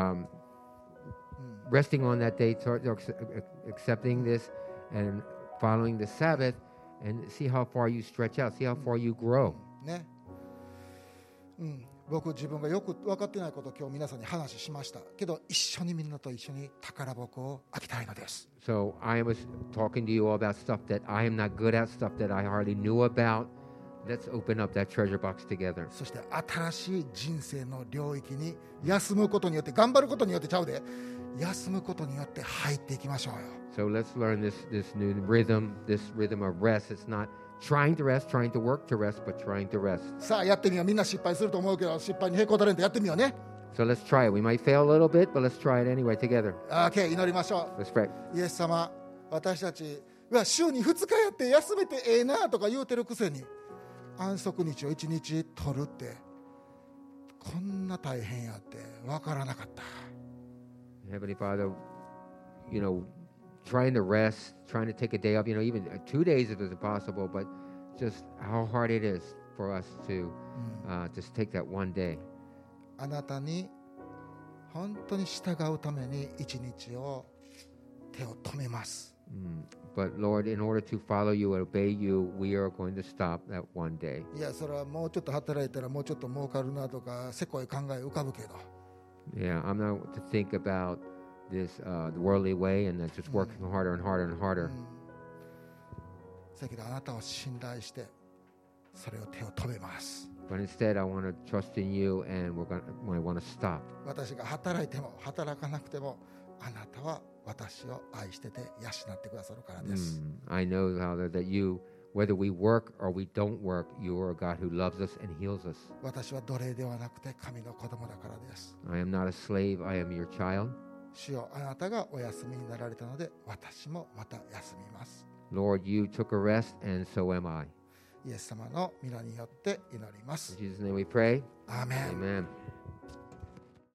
resting on that day, start accepting this and following the Sabbath, and see how far you stretch out, see how far you grow. ね、僕自分がよく分かってないことを今日皆さんに話しましたけど、一緒にみんなと一緒に宝箱を開きたいのです。 So I was talking to you all about stuff that I am not good at, stuff that I hardly knew about. Let's open up that treasure box together. そして新しい人生の領域に休むことによって、頑張ることによってちゃうで、休むことによって入っていきましょうよ。 So let's learn this new rhythm, this rhythm of rest. It's not trying to rest, trying to work to rest, but trying to rest. さあやってみよう。みんな失敗すると思うけど、失敗にへこたれんとやってみようね。 So let's try it. We might fail a little bit, but let's try it anyway together. OK、祈りましょ Let's pray. う。イエス様、私たちは週に2日やって休めてええなとか言うてるくせに、安息日を1日取るってこんな大変やって分からなかった。 Heavenly Father, trying to rest, trying to take a day off, even 2 days if it's possible, but just how hard it is for us to just take that one day. あなたに本当に従うために一日を手を止めます。 But Lord, in order to follow you and obey you, we are going to stop that one day. いや、それはもうちょっと働いたらもうちょっと儲かるなとかせこい考え浮かぶけど、 Yeah, I'm not to think about the worldly way and that's just working harder and harder and harder. だけどあなたを信頼してそれを手を止めます。 But instead, I want to trust in you, and I want to stop. 私が働いても働かなくてもあなたは私を愛してて養ってくださるからです。 I know, Father, that you, whether we work or we don't work, you are a God who loves us and heals us. 私は奴隷ではなくて神の子供だからです。 I am not a slave, I am your child. 主よ、あなたがお休みになられたので私もまた休みます。 Lord, you took a rest, and so am I. イエス様の皆によって祈ります。 In Jesus' name we pray. Amen. Amen.